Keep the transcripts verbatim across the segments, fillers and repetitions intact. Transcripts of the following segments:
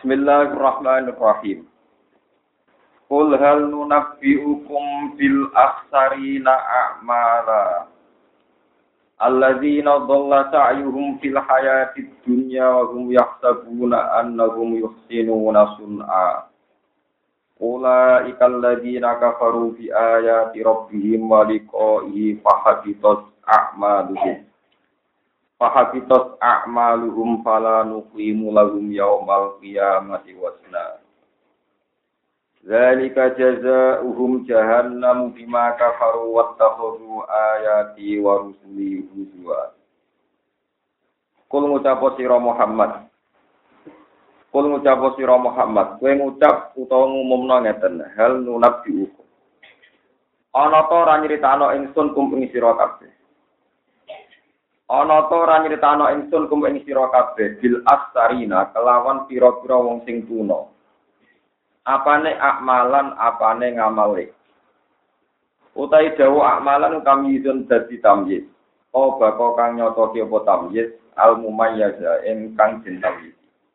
Bismillahirrahmanirrahim. Qul hal nunabbi'ukum bil akhsarina a'mala alladzina dhalla sa'yuhum fil hayatid dunya wa hum yahsabuna annahum yuhsinuna sun'a. Ulaika alladzina kafaru bi ayati rabbihim wa liqa'ihi fahabitat a'maluhum. Fahabitat a'maluhum fala nuqimu lahum yaumal qiyamati wazna. Dzalika jazaohum jahannam bima kafaru wattakhadhu ayati wa rusuli huzwa. Kul ngucap sira Muhammad. Kul ngucap sira Muhammad, kowe ngucap utawa ngumumna ngeten, hal nunabbiukum. Ana ta ora nyritakno ingsun kum ing sira kabeh. Ana ta ora nyritakno ingsun kum ing sira kabeh bil astarina kelawan pira-pira wong sing tuna. Apane akmalan, apane ngamale. Utai dawu akmalan kami izun dadi tamyiz. O bako kang nyotoke apa tamyiz al mumayyaza ingkang den tamyiz.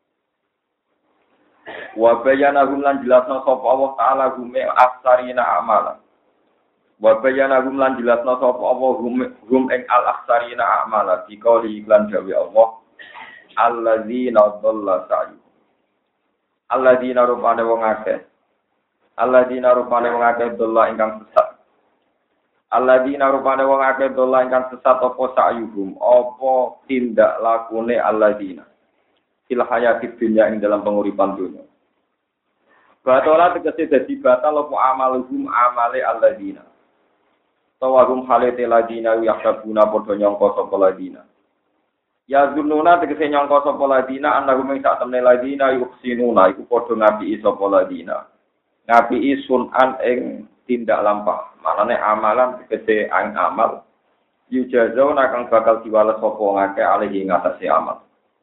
Wa bayana hum lan jelasna sapa Allah taala gume astarina akmalan. Wa bayana hum lan jelasna sapa Allah hum hum ing al astarina akmalan dikauli iklan dawe Allah alladzina dhalla sa'yu. Alladzina rupane wong akeh. Alladzina rupane wong akeh dolla ingkang sesat. Alladzina rupane wong akeh dolla ingkang sesat apa sa'yuhum, apa tindak lakune alladzina. Fil hayatid dunya ing dalam penguripan dunya. Batola tegese dadi batal apa amaluhum amale alladzina. Tawagum halete ladina yahdabuna padha nyangka sapa ladina. Ya zununa tegese nyangka sapa ladina annahum ing sak temne ladina yuhsinuna iku padha ngapiki sapa ladina. Ngapiki sunan ing tindak lampah. Manane amalan tegese ang amal. Yujazauna kang bakal diwales sapa ngake alihi ngatasi amal.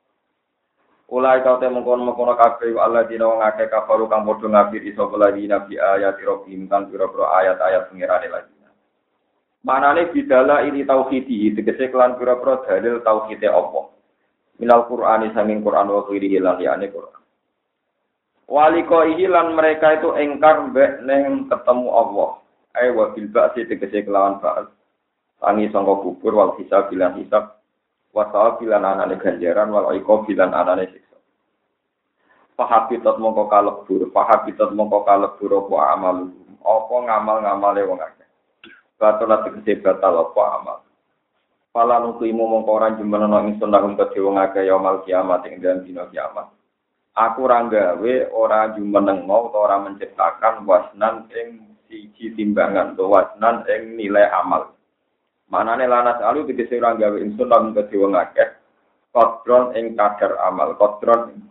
Ulai kau temu kono-kono kabeh alladzina wong akeh kafaru kang padha ngapiki sapa ladina bi ayati rabbihim kan pira-pira ayat-ayat pengirane ladina. Manane bidala ini tauhidi tegese kelan pira-pira dalil tauhide apa minal Qur'ani sanging Qur'an wa khirihi lan liyane Qur'an waliko lan mereka itu engkar mbek ning ketemu Allah ai wa bil ba'si tegese kelawan ba'as tangi sangka kubur wal hisab bilan hisab wa sawabilan anane ganjaran wal iqab bilan anane siksa fahabitat mongko kalebur fahabitat mongko kalebur apa amal apa ngamal-ngamale wong akeh batola tegese batal apa amal. Pala nukimu mongko ora jemenono ingsun lahum kedhe wong akeh yaumul kiamat ing dalem dina kiamat. Aku ora gawe ora jumenengo utawa ora menciptakan wasnan ing siji timbangan utawa wasnan ing nilai amal. Manane lanas alu tegese ora gawe ingsun lahum kedhe wong akeh kodron ing kadar amal, kodron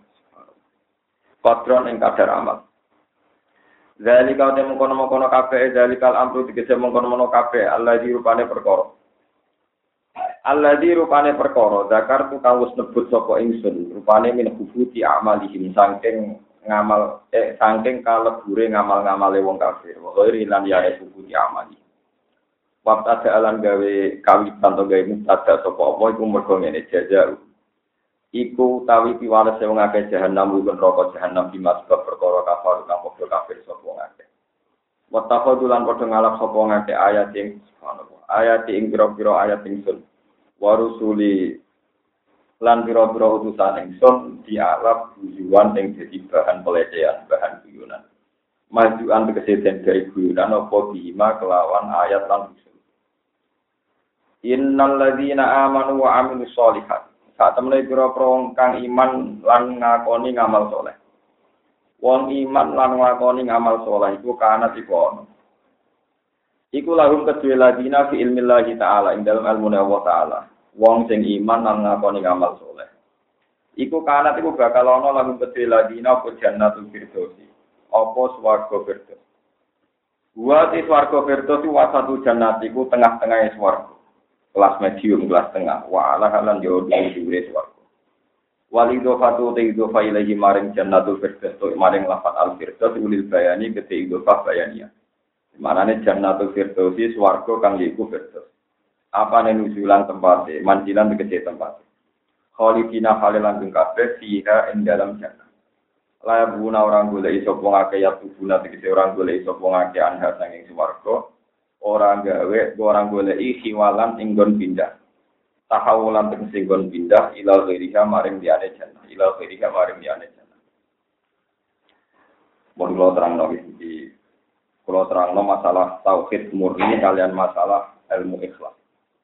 kodron ing kadar amal. Zalika te mengkono-mengkono kabeh zalikal amru tegese mengkono-mengkono kabeh alladzi rupane perkara. Alladzi rupane perkara zakar tu kang wis nebut sapa ingsun rupane min hubuti amalihim saking ngamal eh saking kalebure ngamal-ngamale wong kafir. Wa ghairi lan ya hubuti amali. Waktu ada alam gawe kawitan to gawe mustada sapa apa iku mergo ngene jajar. Iku tawi piwales wong akeh jahanam uga neraka jahanam dimas sebab perkara kafir kang padha kafir sapa wong akeh. Wa taqadulan padha ngalap sapa wong akeh ayat ing subhanallah. Ayat ing pira-pira ayat ingsun. Wa rusuli lan pira-pira utusan ingsun dialap tujuan ing dadi bahan pelecehan, bahan guyonan. Majuan tegese den gawe guyonan apa bima kelawan ayat lan ingsun. Innal ladzina amanu wa amilus sholihat saat temene pira-pira wong kang iman lan ngakoni ngamal saleh. Wong iman lan ngakoni ngamal saleh iku kana iku ana. Iku lahum kedue ladina fi ilmillahi taala ing dalem ilmu Allah taala. Wong sing iman lan ngakoni ngamal saleh. Iku kana iku bakal ana lahum kedue ladina apa jannatul firdausi. Apa swarga firdaus. Wa ti swarga firdaus wa satu jannat iku tengah-tengahe swarga. Kelas medium, kelas tengah. Wa ala halan yo dhuwure swarga. Walido fatu te idofa ilahi maring jannatul firdaus to maring lafat al firdaus ulil bayani kete idofa bayania. Manane jannatul firdaus swarga kang iku firdaus. Apane nujulan tempate, manjilan tegese tempate. Khalidina halilan ing kabeh fiha ing dalam jannah. Layak guna orang golek iso wong akeh ya tubuna tegese orang golek iso wong akeh anha sanging swarga. Orang gawe orang golek hiwalan ing nggon pindah. Tahawulan tegese nggon pindah ila ghairiha maring liyane jannah. Ila ghairiha maring liyane jannah. Mun kula terangno iki kula terangno masalah tauhid murni kalian masalah ilmu ikhlas.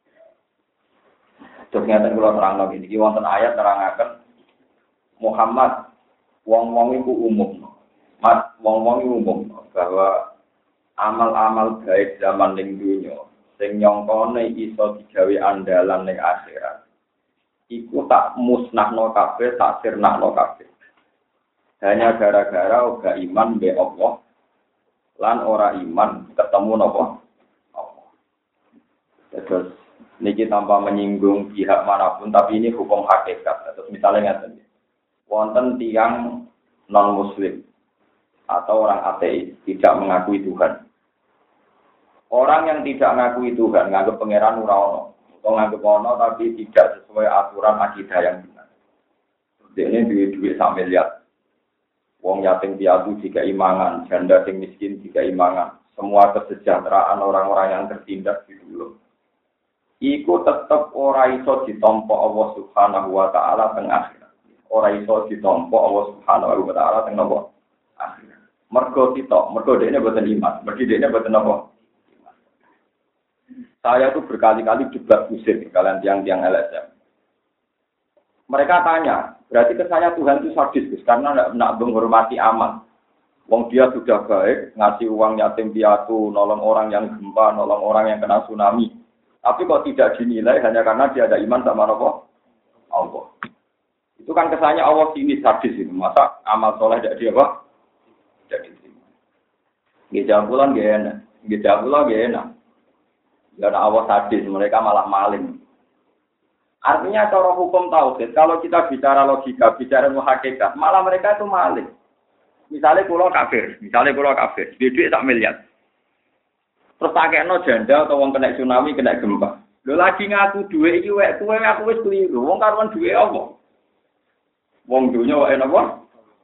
Terus ngeten kula terangno iki wonten ayat nerangaken Muhammad wong-wong iku umum. Mas wong-wong iku umum bahwa amal-amal baik zaman ning dunya sing nyongkone iso digawe andalan ning akhirat. Iku tak musnahno kabeh, tak sirnahno kabeh. Hanya gara-gara ora iman be Allah lan ora iman ketemu napa? Allah. Terus niki tanpa menyinggung pihak manapun tapi ini hukum hakikat. Terus misalnya ngaten. Wonten tiang non-muslim atau orang ateis tidak mengakui Tuhan. Orang yang tidak mengakui Tuhan, nganggep pangeran ora ono, atau nganggep ono tapi tidak sesuai aturan akidah yang benar. Ini duit-duit sak miliar. Wong yatim piatu jika imangan, janda sing miskin jika imangan. Semua kesejahteraan orang-orang yang tertindas di dulu. Iku tetap ora iso ditampa Allah Subhanahu wa taala teng akhir. Ora iso ditampa Allah Subhanahu wa taala teng napa? Akhir. Mergo kita, mergo dekne boten iman, mergo dekne boten napa? Iman. Saya tuh berkali-kali debat kusir kalian tiang-tiang L S M. Mereka tanya, berarti kesannya Tuhan itu sadis, karena tidak nak menghormati amal. Wong dia sudah baik, ngasih uang yatim piatu, nolong orang yang gempa, nolong orang yang kena tsunami. Tapi kok tidak dinilai hanya karena dia ada iman sama napa? Allah. Itu kan kesannya Allah sini sadis itu. Masa amal soleh tidak dia apa? Tidak diterima. Gejabulan gak enak. Gejabulan gak enak. Karena Allah sadis, mereka malah maling. Artinya cara hukum tauhid, kalau kita bicara logika, bicara muhakikat, malah mereka itu maling. Misalnya kulo kafir, misalnya kulo kafir, duit tak miliar. Terus pakainya janda atau wong kena tsunami, kena gempa. Lo lagi ngaku duit iki wek kuwe aku wis keliru. Wong karuan duit apa? Wong dunya wae napa?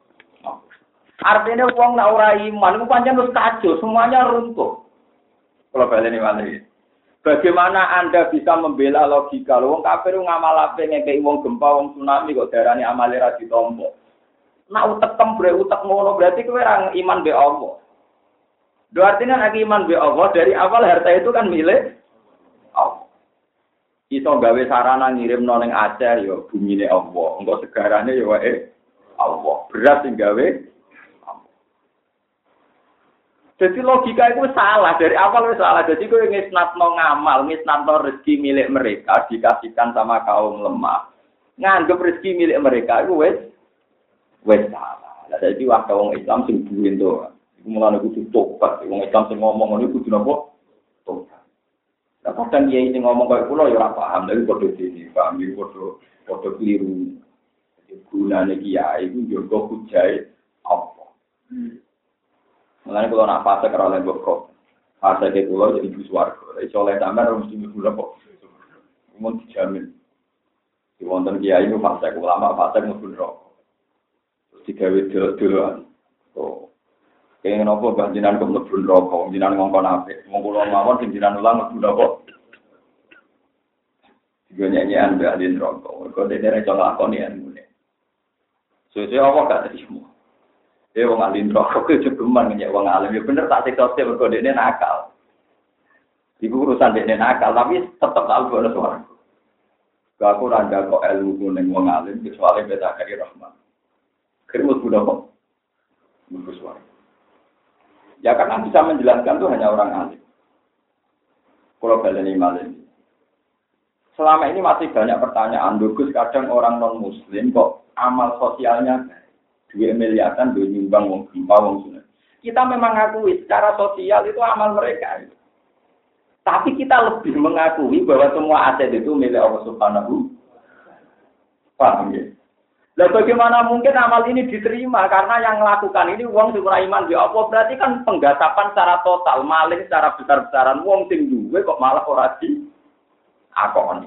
Artinya wong nak ora iman iku pancen wis kacau, semuanya runtuh. Kalau baleni malih. Bagaimana Anda bisa membela logika? Wong kafir ngamal ape ngekeki wong gempa, wong tsunami kok darane amale ra ditampa. Nak utek tembre utek ngono berarti kowe ora iman be Allah. Do artinya nek iman be Allah dari awal harta itu kan milik Allah. Iso gawe sarana ngirimno ning Aceh ya bumine Allah. Engko segarane ya wae Allah. Berat sing gawe Allah. Jadi logika itu salah dari awal wis salah. Jadi kowe ngisnatno ngamal, ngisnatno rezeki milik mereka dikasihkan sama kaum lemah. Nganggep rezeki milik mereka itu wis wis salah. Lah dadi waktu wong Islam sing duwe to. Iku mulane kudu tobat. Wong Islam sing ngomong ngono kudu napa? Tobat. Lah kadang kiai sing ngomong kaya kula ya ora paham, lha padha dene, paham iki padha padha kliru. Jadi gunane kiai iku njogo hujae apa. Mulane kula nak fase karo lek kok. Fase ke kula jadi ibu swarga. Iso oleh sampean harus mesti kula kok. Mun dijamin. Di wonten kiai iku fase ulama fase mlebu neraka. Terus digawe dolo-doloan. Oh. Kenging napa banjinan kok mlebu neraka, jenengan ngongkon apik. Wong kula mawon sing jenengan ulang mlebu neraka. Digo nyanyian mbak di neraka. Kok dene ra iso nglakoni ngene. Sesuk apa gak terima. Eh wong alim neraka ku jegeman nyek wong alim. Ya bener tak siksa mergo dekne nakal. Iku urusan dekne nakal, tapi tetep tak ono suara. Gak aku ora kok ilmu ning wong alim kecuali beda kari rahmat. Kerimu sudah kok. Mlebu suara. Ya karena bisa menjelaskan itu hanya orang alim. Kalau baleni malih. Selama ini masih banyak pertanyaan. Dugus kadang orang non muslim kok amal sosialnya dua miliaran dua nyumbang wong gempa wong tsunami. Kita memang akui secara sosial itu amal mereka. Tapi kita lebih mengakui bahwa semua aset itu milik Allah Subhanahu. Paham ya? Lah bagaimana mungkin amal ini diterima karena yang melakukan ini wong sing ora iman ya apa berarti kan penggasapan secara total, maling secara besar-besaran wong sing duwe kok malah ora di akoni.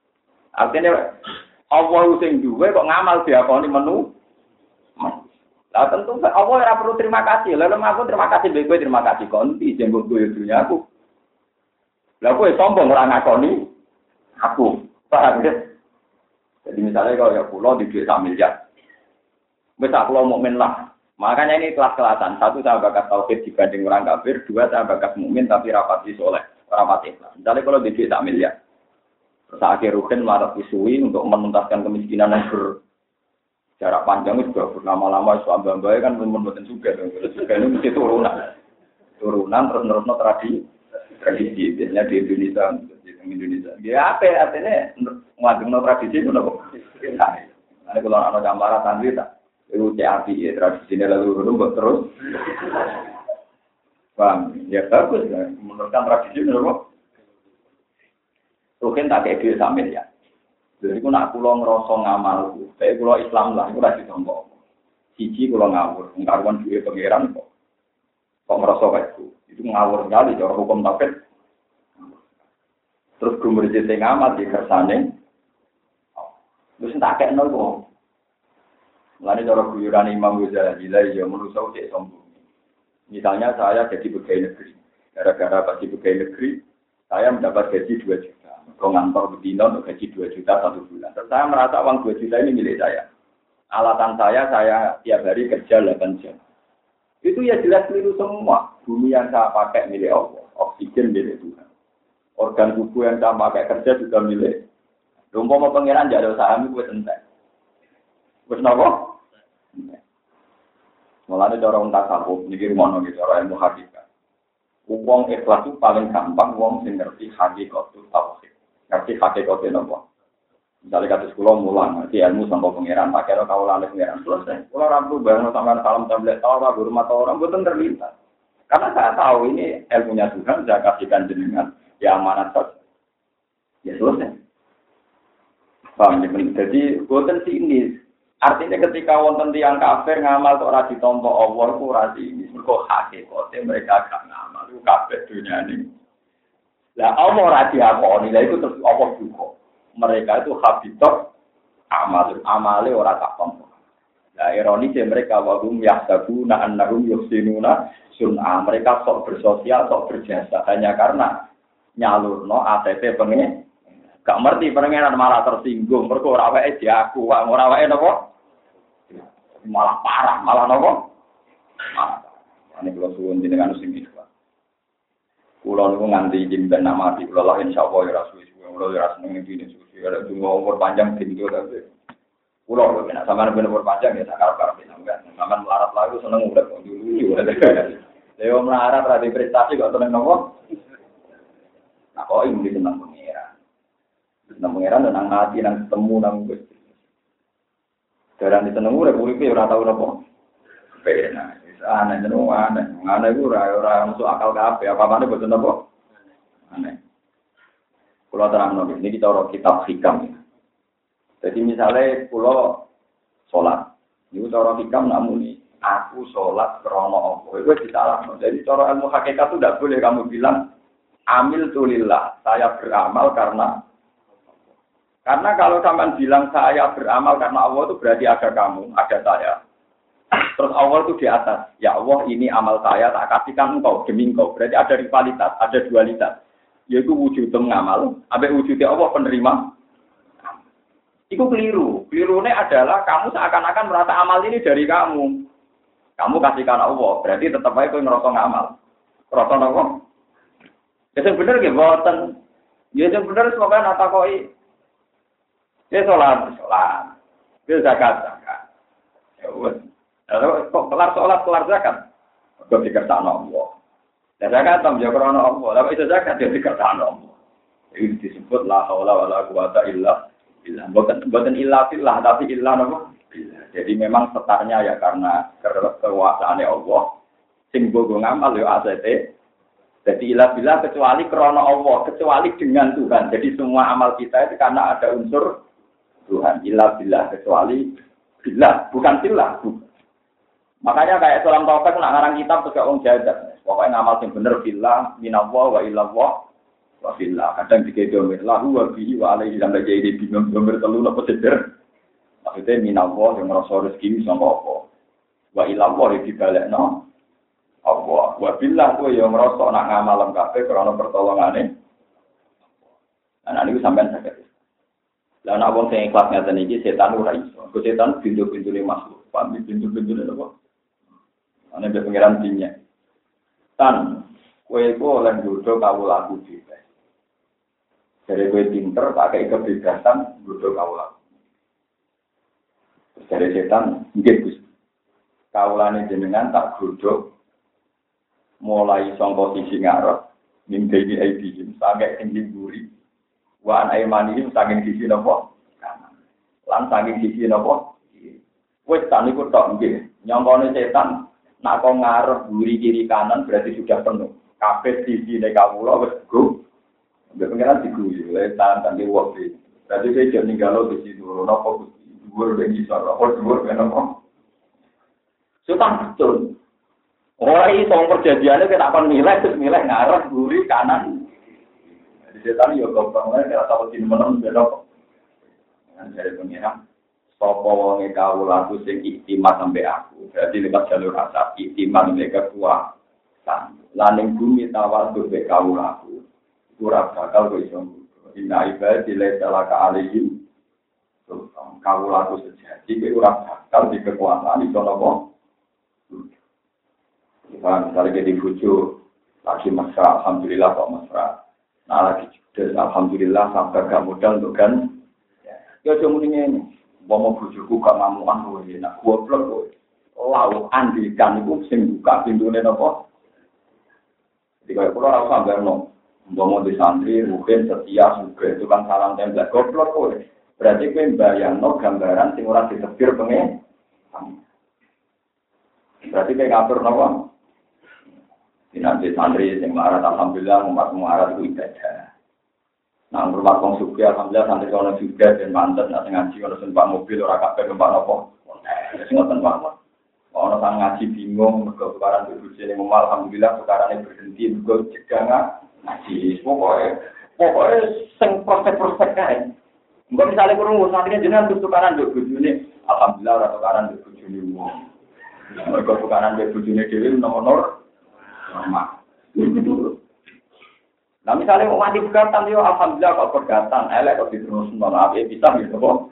Artinya Allah sing duwe kok ngamal diakoni menu. Lah tentu Allah ora perlu terima kasih. Lalu aku terima kasih bae kowe terima kasih konti jembok kowe dunya aku. Lah kowe sombong ora ngakoni aku. Paham ya? Jadi misalnya kalau ya pulau di duit satu miliar. Wis aku mukmin lah. Makanya ini kelas-kelasan. Satu saya bakat tauhid dibanding orang kafir, dua saya bakat mukmin tapi rapati soleh, rapati ikhlas. Misalnya kalau di duit satu miliar. Terus akhir rugen marah isui untuk menuntaskan kemiskinan yang berjarak panjang juga berlama-lama isu ambang-ambang kan membuatkan juga. Juga ini mesti turunan. Turunan terus nerusno tradisi. Tradisi biasanya di Indonesia. Indonesia. Ya apa artinya ngajengno tradisi itu nopo. Nah, kalau ana gambaran santri tak itu C A P ya tradisinya lalu rubah terus. Bang, ya bagus ya menurutkan tradisi nopo. Mungkin tak kayak dia sambil ya. Jadi aku nak pulau ngerosong ngamal, saya pulau Islam lah, aku rasa tombol. Siji pulau ngawur, ngkaruan duit pangeran kok. Kok ngerosok kayak itu, itu ngawur sekali cara hukum tauhid. Terus gumur jete ngamat di kersane. Terus tak kek nol kok. Mulane cara guyuran Imam Ghazali ya manusa cek sombong. Misalnya saya jadi pegawai negeri. Gara-gara pasti pegawai negeri, saya mendapat gaji dua juta. Kalau ngantor betina untuk gaji dua juta satu bulan. Terus saya merasa uang dua juta ini milik saya. Alatan saya, saya tiap hari kerja delapan jam. Itu ya jelas keliru semua. Bumi yang saya pakai milik Allah. Oksigen milik Tuhan. Organ tubuh yang saya pakai kerja juga milik. Lumpur mau pengiran jadi saham itu entek. Wes nopo? Mulane cara unta sabuk niki rumono iki cara ilmu hakikat. Wong ikhlas itu paling gampang wong sing ngerti hakikat tauhid. Ngerti hakikat nopo? Misalnya kata sekolah mulang, ngerti ilmu sampai pengiran, pakai lo kawalan pengiran selesai. Kalau orang tuh bareng sama salam tablet tahu apa guru mata orang betul terlintas. Karena saya tahu ini ilmunya Tuhan, saya kasihkan jenengan. Ya amanat saja. Ya selesai. Paham ya? Jadi, boten sini. Artinya ketika wonten tiyang kafir ngamal kok ora ditampa Allah ku ora sini. Mergo hakikate mereka gak ngamal. Ku kabeh dunyane. Lah Allah ora diakoni. Lah itu terus Allah juga. Mereka itu habitat amal. Amale ora tak tampa. Lah ironisnya mereka wahum yahsabuna annahum yuhsinuna sun'a. Mereka sok bersosial, sok berjasa hanya karena nyalurno A T P pengen gak ngerti pengen malah tersinggung mergo ora wae diaku ora wae napa malah parah malah napa ane kula suwun jenengan sing iki kula niku nganti izin ben nama di kula lah insyaallah ya rasul kula ya seneng iki suwi ada dungo umur panjang tinggi tapi kula lho nek sampean ben umur panjang ya sak karep-karep sampean sampean melarat lagu seneng urip dulu lho melarat ra prestasi kok seneng napa. Nah, kok ini tentang pengeran. Tentang pengeran tentang hati, tentang ketemu, tentang Gusti. Jarang disenengu, republik itu orang tahu apa. Pena, aneh, jeneng aneh. Aneh itu orang masuk akal kafe. Apa-apa ini betul apa? Aneh. Pulau terang nabi, ini kita orang kitab hikam. Jadi misalnya pulau sholat. Ini cara hikam namun ini. Aku sholat krono apa. Itu disalah. Jadi cara ilmu hakikat itu tidak boleh kamu bilang amil tulillah, saya beramal karena karena kalau sampean bilang saya beramal karena Allah itu berarti ada kamu, ada saya. Terus Allah itu di atas. Ya Allah, ini amal saya tak kasihkan engkau demi engkau. Berarti ada rivalitas, ada dualitas. Yaitu wujud ngamal, sampai wujudnya Allah penerima. Itu keliru. Kelirunya adalah kamu seakan-akan merasa amal ini dari kamu. Kamu kasihkan Allah, berarti tetap aja kau ngerasa ngamal. Ngerasa apa? Ya sebenarnya nggih boten. Ya sebenarnya semoga nata koi. Ya sholat, sholat. Ya zakat, zakat. Ya wes. Lalu kok kelar sholat, kelar zakat. Kok dikersakno Allah. Ya zakat tam yo krana Allah. Lalu itu zakat yo dikersakno Allah. Ini disebut la haula wala quwata illa billah. Boten boten illa billah, tapi illa napa? Billah. Jadi memang setarnya ya karena kekuasaane Allah. Sing bogo ngamal yo A C T. Jadi ilah bila kecuali krana Allah, kecuali dengan Tuhan. Jadi semua amal kita itu karena ada unsur Tuhan. Ilah bila kecuali bila, bukan bila. Makanya kayak Salam Taufik nak ngarang kitab juga orang jadat. Pokoknya ngamal yang bener bila, minallah wa ilallah wa bila. Kadang dikedomir lahu wa bihi wa alaihi sampai jadi bingung domir telu apa seder. Maksudnya minallah yang ngerasa rezeki sama apa. Wa ilallah dibalekno Allah. Wa billah kowe yo ngrasa nak ngamal kabeh krana pertolongane. Ana niku sampean saged. Lah nek wong sing ikhlas ngaten iki setan ora iso. Kok setan pintu-pintune makhluk. Pamit pintu-pintune apa? Ana be pengiran dinya. Tan kowe iku oleh nggodho kawulaku dhewe. Dari kowe pinter pakai kebebasan nggodho kawulaku. Dari setan nggih Gus. Kawulane jenengan tak godhog mulai saka sisi ngarep mimpi di I P sampai ing mburi. Wa an aymani saking sisi napa? Kanan. Lan saking sisi napa? Wis tak niku tok nggih. Nyongkone setan nak kok ngarep mburi kiri kanan berarti sudah penuh. Kabeh sisi nek kawula wis go. Mbek pengen diguyu le tan tan diwoki. Berarti saya jadi ninggalo di situ napa dhuwur ben iso apa dhuwur ben napa? Setan betul. Orang itu perjanjiannya kita akan nilai terus nilai ngarep mburi kanan. Setan yo gampang wae nek tahu di menem belok. Kan jare pengiran sapa wong e kawulaku sing iktimat sampe aku. Berarti lewat jalur asap iktimat nek kekuatan. Lan ning bumi tawadhu be kawulaku. Ora bakal kok iso. Inna ibadi la talaka alaihim. Kawulaku sejati kowe ora bakal di kekuatan iso napa. Kita misalnya di bujuk lagi mesra, alhamdulillah kok mesra. Nah lagi judes, alhamdulillah sampai gak modal untuk kan. Ya cuma ini, mau bujuku gak ngamuan gue, nak gue blok gue. Lalu andikan itu sing buka pintunya nopo. Jadi kalau pulau rasa sampai no, mau di santri, mungkin setia juga itu kan salam tembak goblok gue. Berarti gue bayang no gambaran sing ora ditebir pengen. Berarti kayak ngatur nopo. Nanti santri yang marah, alhamdulillah umat marah itu ibadah. Nah, rumah kong suki, alhamdulillah santri kalau juga dan mantan, nanti ngaji kalau sempat mobil orang kafe tempat nopo, eh, semua tempat. Kalau orang ngaji bingung, kalau sekarang berbuji ini memal, alhamdulillah sekarang ini berhenti, juga cegah ngaji. Pokoknya, pokoknya sing prospek-prospek kan. Enggak misalnya kurung santrinya jenengan untuk tukaran berbuji ini, alhamdulillah orang tukaran berbuji ini. Kalau tukaran berbuji ini dewi nomor normal. Nah misalnya mau mati pegatan, yo alhamdulillah kalau pegatan, elek kalau diterus maaf ya bisa gitu kok.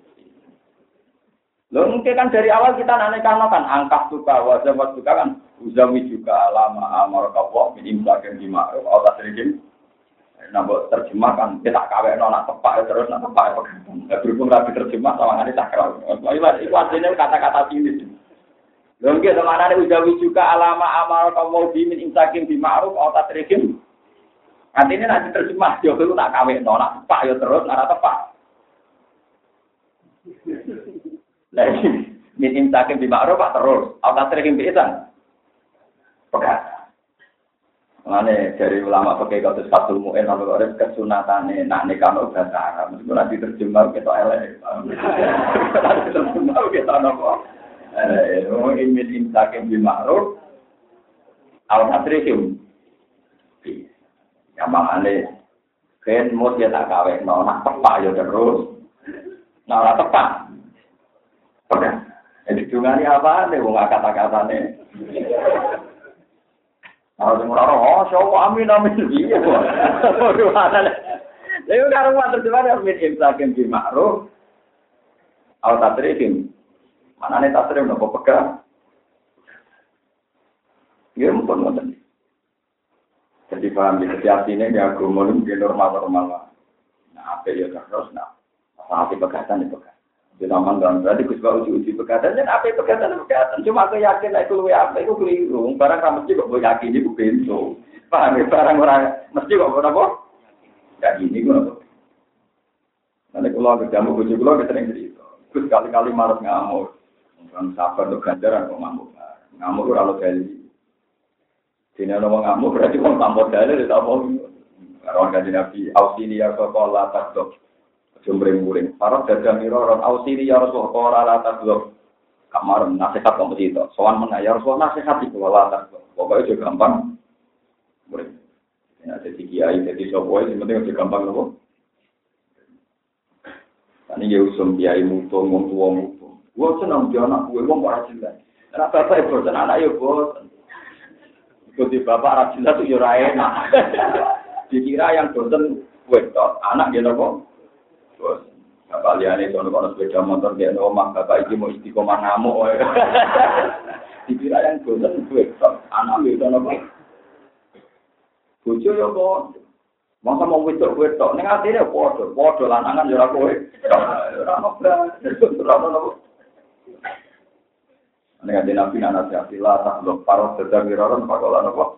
Lo mungkin kan dari awal kita nanekan kan angkat suka, wajah suka kan, uzawi juga lama amar kawah minim bagian lima, otak sedikit. Nambah terjemah kan kita kawin nona tepak terus nona tepak pegatan. Berhubung rapi terjemah sama ngani sakral. Itu artinya kata-kata ini. Longge temanane ujawi juga alama amal kaum bimin insakin bi ma'ruf au tatrikim. Artinya nanti terjemah yo kuwi nak kawekno nak tepak yo terus ora tepak. Lah min insakin bi ma'ruf terus au tatrikim bi isan. Pegat. Mane dari ulama pakai kata fatul mu'in kalau ada kesunatane nak nikah udah cara mesti nanti terjemah kita elek. Nanti terjemah kita nopo. Eh, orang ingin intakem di ma'ruf, awal hatrikim. Yang mana kan mau dia tak kawin, mau nak tepak ya terus, nak tepak. Oke, jadi juga ni apa nih, bunga kata-kata nih. Kalau semua orang, oh, so amin amin dia, waduh ada. Lalu kalau mau terjemah, ingin intakem di ma'ruf, awal hatrikim. Mana nih tasrif nopo pegang? Ya mumpun mumpun. Jadi paham di setiap sini dia agama itu normal-normal. Nah apa ya terus nah apa pegatan itu pegang. Di zaman dan berarti kusba uji-uji pegatan dan apa pegatan pegatan. Cuma aku yakin itu luwe apa itu keliru. Barang kamu mesti kok boleh yakin itu bentuk. Paham ya barang orang mesti kok apa? Ya gini gue apa? Nanti kalau ketemu uji kalau kita sering cerita. Terus kali-kali marah ngamuk. Orang sabar untuk ganjaran kok ngamuk. Ngamuk kalau kali. Sini ada orang ngamuk berarti orang tambah dalil tak mau. Orang kaji nabi ausilia sekolah tak dok. Jumring-jumring. Para dagang miro orang ausilia sekolah tak dok. Kamar nasihat kompetitor. Soal mana ya Rasulullah nasihat itu wala tak dok. Pokoknya juga gampang. Muring. Ya jadi kiai jadi sopoi sebenarnya juga gampang loh. Ini ya usum kiai mutung mutung mutung. Gua senang dia anak gue, gua nggak rajin kan. Anak bapak ibu bosan, anak ibu bosan. Ikuti bapak rajin itu ya enak. Dikira yang bosan wedok, anak dia nopo. Bosan. Bapak liane sono kono sepeda motor dia omah, bapak iki mau istiqomah ngamuk. Dikira yang bosan wedok, anak dia nopo. Bojo ya kok. Masa mau wedok-wedok ning atine padha, padha lanangan ya ora kowe. Ora ono blas, ora ono. Nek ada nabi anak siapa tak lo parot terdagiran pakolan apa?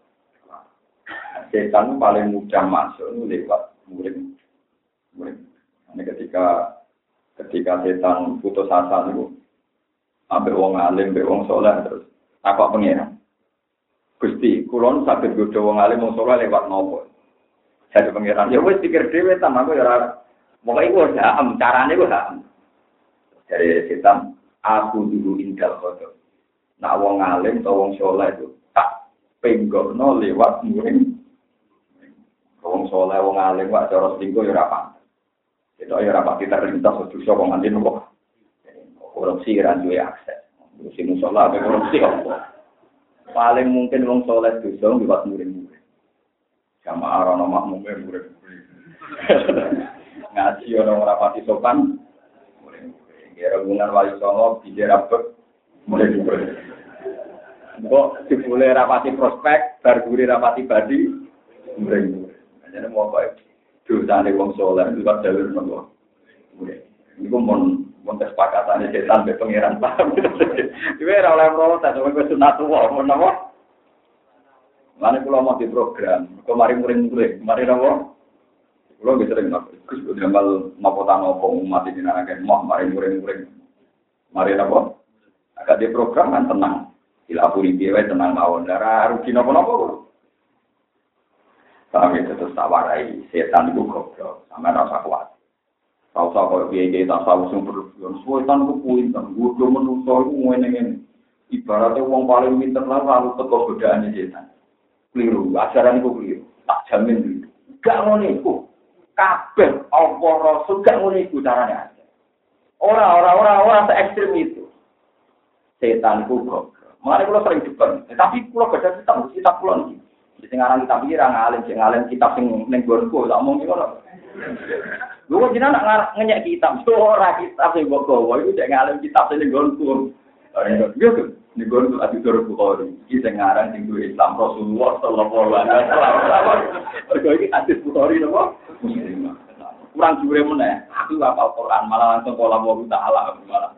Setan paling mudah masuk lewat murid, murid. Ini ketika ketika setan putus asa itu, ambil wong alim, ambil wong soleh terus apa pengiran? Gusti, kulon sakit godo wong alim wong soleh lewat nopo? Jadi pengiran, ya wes pikir dewe sama aku ya, mulai gue ham, caranya gue ham. Dari setan, aku dulu indal kotor. Nak wong alim atau wong soleh itu tak penggono lewat murid. Wong soleh wong alim wak cara selingkuh ya rapat. Itu ya rapat kita terlintas dosa wong alim kok. Korupsi ra duwe akses. Korupsi musola apa korupsi apa. Paling mungkin wong soleh dosa lewat murid-murid. Jamaah ana makmum murid-murid. Ngaji orang rapati sopan. Murid-murid. Rebunan wali songo dijerabek murid-murid. Kok dibule rapati prospek, barguri rapati badi murid-murid. Jadi mau apa itu? Dosane wong soleh itu kan jalur nopo. Iku mon mon kesepakatane setan be pangeran paham. Iku ora oleh protes, wong sunat wae mon napa? Mane kula mau di program, kok mari murid-murid, mari napa? Kula wis sering napa? Gus udah amal napa ta napa umat iki nang akeh mau mari murid-murid. Mari napa? Agak di program kan tenang. Dilapuri piye wae tenang mawon. Ora rugi napa-napa. Kami terus tawarai setan itu goblok, sama rasa kuat. Tahu tahu kalau dia dia tak tahu sumber berlebihan. Setan itu pintar, gue menungso itu ngene-ngene. Ibaratnya uang paling pintar lah lalu teko godaannya setan. Keliru, ajaran itu keliru. Tak jamin keliru. Gak ngono iku. Kabeh apa rasul gak ngono iku carane aja. Ora ora ora ora se ekstrem itu. Setan itu goblok. Makanya kalau sering depan, tapi kalau baca kitab kitab pulau ini. Sing aran kitab iki ra ngalim, sing ngalim kitab sing ning gonku, tak omong iki ngono. Lho jenengan nak ngenyek kitab, ora kitab sing mbok gawa iku sing ngalim kitab sing ning gonku. Yo yo, ning gonku ati tur Bukhari. Iki sing aran sing duwe Islam Rasulullah sallallahu alaihi wasallam. Kok iki hadis Bukhari napa? Muslim. Kurang jure meneh. Aku hafal Quran malah langsung kala Allah Taala malah.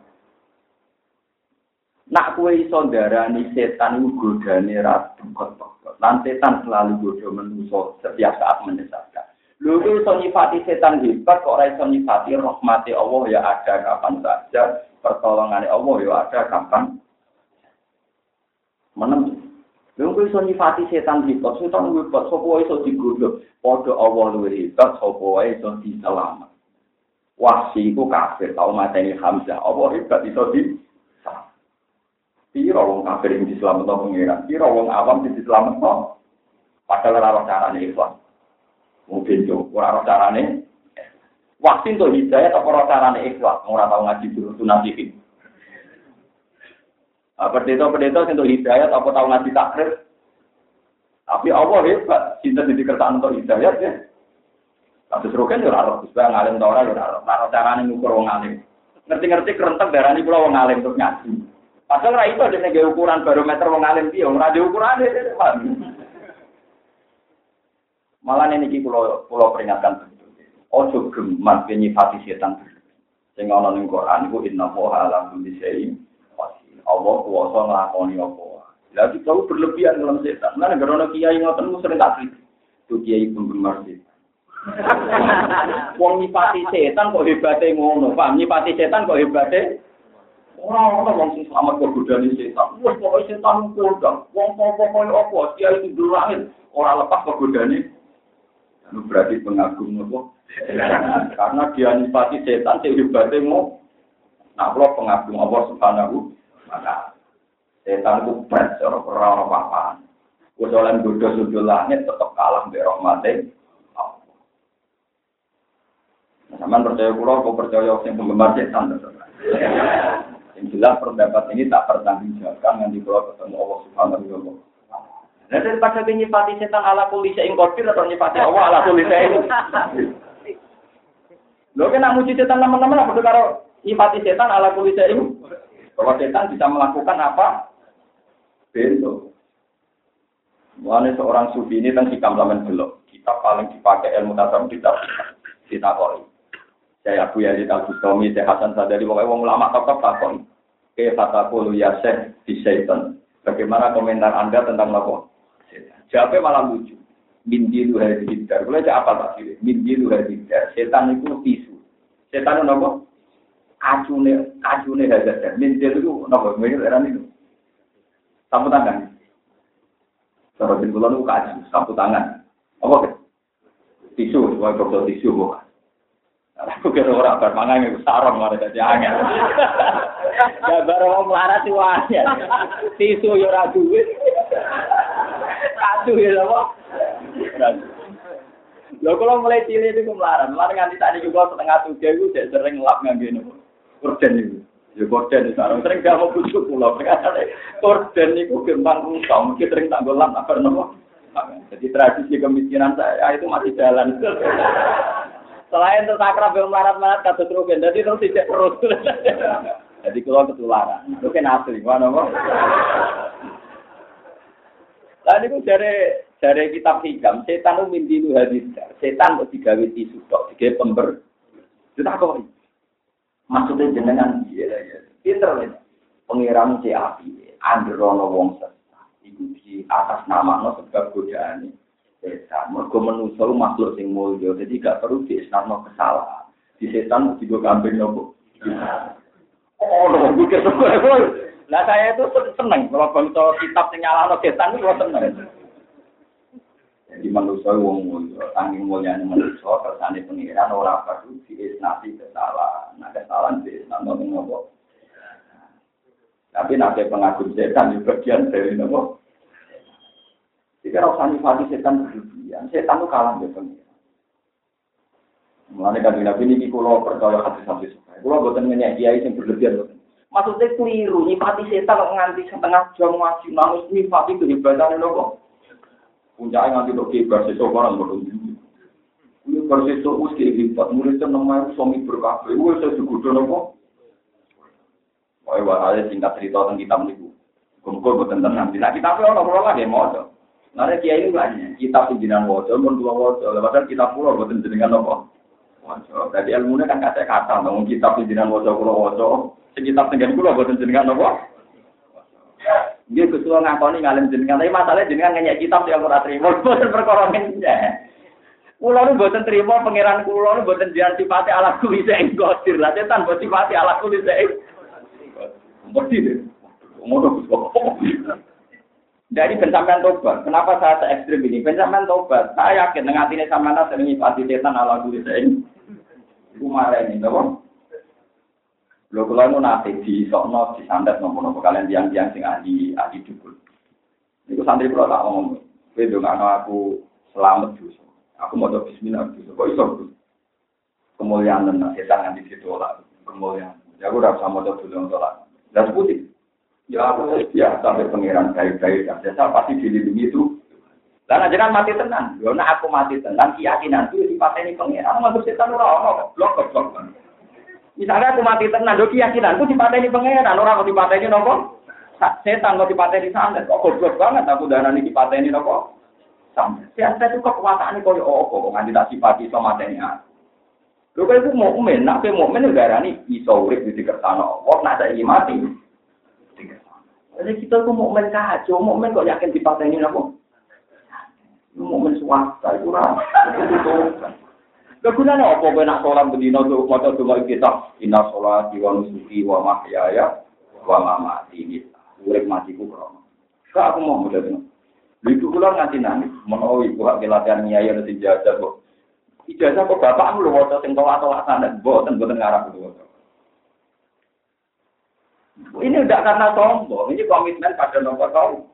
Nak kowe iso ndarani setan iku godane ra kok. Lan setan selalu godo menungso setiap saat menyesatkan. Lho iso nyifati setan hebat kok ora iso nyifati rahmati Allah ya ada kapan saja, pertolongane Allah ya ada kapan. Menem. Lho iso nyifati setan hebat, setan hebat sapa wae iso digodho. Padha Allah luwih hebat sapa wae iso diselamat. Wahsi iku kafir tau mateni Hamzah. Allah hebat iso di Piro wong kafir yang diselametno pengiran, piro wong awam yang diselametno. Padahal ora carane ikhlas. Mungkin yo ora carane. Waktu itu hidayah atau ora carane ikhlas, ora tau ngaji dulu sunatikin. Apa pendeta-pendeta sing hidayah atau tau ngaji takrif. Tapi Allah hebat, cinta di kertaan untuk hidayah ya. Kasus roken yo ora ora bisa ngalim ta ora yo ora ora carane ngukur wong alim. Ngerti-ngerti kerentek darani kula wong alim terus ngaji. Padahal ra itu ada nege ukuran barometer wong alim piye, ora ada ukurane. Malah niki kula kula peringatkan betul. Ojo geman nyifati setan. Sing ana ning Quran iku innallaha ala kulli syai'in qadir. Allah kuwasa nglakoni apa. Lah iki kau berlebihan dalam setan. Nah negara ana kiai ngoten sering tak kritik. Tuh kiai penggemar setan. Wong nyifati setan kok hebate ngono, paham? Nyifati setan kok hebate orang-orang wong sing selamat kegodaan setan. Wes pokoke setan kodang. Wong pokoke apa dia itu durangin ora lepas kegodaane. Anu berarti pengagum apa? Karena dia nifati setan sing hebate mo. Nah, kalau pengagum Allah Subhanahu wa taala. Setan ku berat ora ora apa-apa. Wes oleh godho sudul langit tetep kalah mbek rahmate. Sampeyan percaya kula apa percaya sing penggemar setan? Yang jelas pendapat ini tak pertanggungjawabkan yang dibawa ketemu Allah Subhanahu wa taala. Nah, daripada nyifati setan ala kulli syai'in qadir atau nyifati Allah ala kulli syai'in. Lho kena muji setan teman-teman apa karo nyifati setan ala kulli syai'in? Bahwa setan bisa melakukan apa? Bento. Mulane seorang sufi ini tentang hikam lamen belok. Kita paling dipakai ilmu tasawuf kita kita koi. Saya Abu Yazid Al-Bustami, saya Hasan Sadali, pokoknya wong ulama top-top takon. Ke fataqulu ya syekh di syaitan. Bagaimana komentar Anda tentang lapor? Jawabnya malah lucu. Min dilu hadidar. Boleh cak apa tak sih? Min dilu hadidar. Setan itu tisu. Setan itu apa? Kacune, kacune hadidar. Min dilu itu apa? Mirip eran itu. Sapu tangan. Cara bin bulan itu kacu, sapu tangan. Apa? Tisu, sebagai botol tisu bukan. Aku kira orang bermangan itu sarong malah jadi angin. Ya baru mau melarat sih wahnya. Tisu yo ora duit. Kacu ya apa? Lho kalau mulai cilik itu melarat, melarat nganti tadi juga setengah tujuh itu udah sering ngelap ngangge nopo. Korden itu. Ya korden itu sarong sering gak mau busuk pulau. Korden itu gampang rusak, mungkin sering tak golap apa nopo. Jadi tradisi kemiskinan saya itu masih jalan. Selain itu sakrab yang melarat-melarat kata terukin, jadi terus tidak terus. Jadi kalau ketularan, itu kan asli, mana kok? Lalu itu dari dari kitab hikam, setan itu mimpi itu hadis, setan itu digawe tisu tok, digawe pember. Itu tak kok? Maksudnya jenengan dia, pinter nih, pengiram si api, androno wong sesat, itu di atas nama no sebab godaan. Setan, mereka manusia makhluk sing mulya, jadi gak perlu diisnarno kesalahan. Di setan juga kambing nopo. Oh, no, bukan semua. Nah saya itu seneng kalau bangsa kitab sing nyalahno setan itu seneng. Jadi manusia wong mulya, saking mulyane manusia kersane pengiran ora perlu diisnati kesalahan. Nah kesalahan diisnarno nopo. Tapi nanti pengagum setan di bagian dari nopo. Jika rasa nifati setan berlebihan, setan itu kalah dengan pengiran. Mulanya kan Nabi ini kalau percaya hadis-hadis, kalau buatan menyak kiai yang berlebihan. Maksudnya keliru, nifati setan nganti setengah jam ngaji, nangis nifati kehebatan itu kok. Puncaknya nganti untuk kebar sesok orang berdua. Ini bersesok uski hebat, muridnya namanya suami berkabeh, ini saya juga kok. Wah, ada singkat cerita tentang kitab ini. Kumpul buatan tenang, nah kitabnya orang-orang lagi mau ada. Nah, kiai ini banyak. Kitab pimpinan wajah, pun dua wajah. Lepas kitab pulau buatan jenengan apa? Wajah. Jadi ilmunya kan kata-kata. Namun kitab pimpinan wajah pulau wajah. Sekitab tinggal pulau buatan jenengan apa? Dia ketua ngakoni ngalim jenengan. Tapi masalahnya jenengan nanya kitab yang kurang terima. Buatan perkorongannya. Pulau ini buatan terima. Pengiran pulau ini buatan jangan sifati ala kulisa enggotir. Lah, setan buat sifati ala kulisa enggotir. Ngotir. Ngotir. Dari pencapaian tobat, kenapa saya se ekstrim ini? Pencapaian tobat, saya yakin dengan hati ini sama nasi sering nyifati setan ala diri saya ini. Itu marah ini, tahu? Lo kalau mau nasi di sokno di sandat nopo-nopo kalian tiang-tiang sing ahli ahli dukul. Itu santri pulau tak ngomong. Bedo nggak aku selamat justru. Aku mau coba Bismillah justru. Kok iso? Kemuliaan dan setan yang di situ lah. Kemuliaan. Ya aku udah sama coba dulu untuk lah. Dan putih. Ya, ya sampai pengiran baik-baik dan saya pasti dilindungi itu. Karena jangan mati tenang. Karena aku mati tenang, keyakinan itu dipateni pengiran. Aku setan ora ono, blok blok. Misalnya aku mati tenang, do keyakinanku dipateni pengiran, ora kok dipateni nopo? Setan kok dipateni santet. Kok goblok banget aku darani dipateni nopo? Santet. Santet itu kekuasaane koyo opo kok nganti tak sifati iso mateni aku. Lho kok iku mukmin, nek mukmin darani iso urip di kersane Allah, nek saiki mati. Jadi kita tuh mukmin kacau, mukmin kok yakin dipateni napa? Mukmin swasta itu ora. Kegunaan apa kowe nak salat bendina tuh maca doa kita, inna sholati wa nusuki wa mahyaya wa mamati. Urip matiku krono. Kak aku mau modal. Itu kula nganti nangis, menawa ibu hak latihan nyai ana ijazah kok. Ijazah kok bapakmu lho waca sing tolak-tolak sanad, mboten mboten ngarep lho. Ini tidak karena sombong, ini komitmen pada nomor tahu.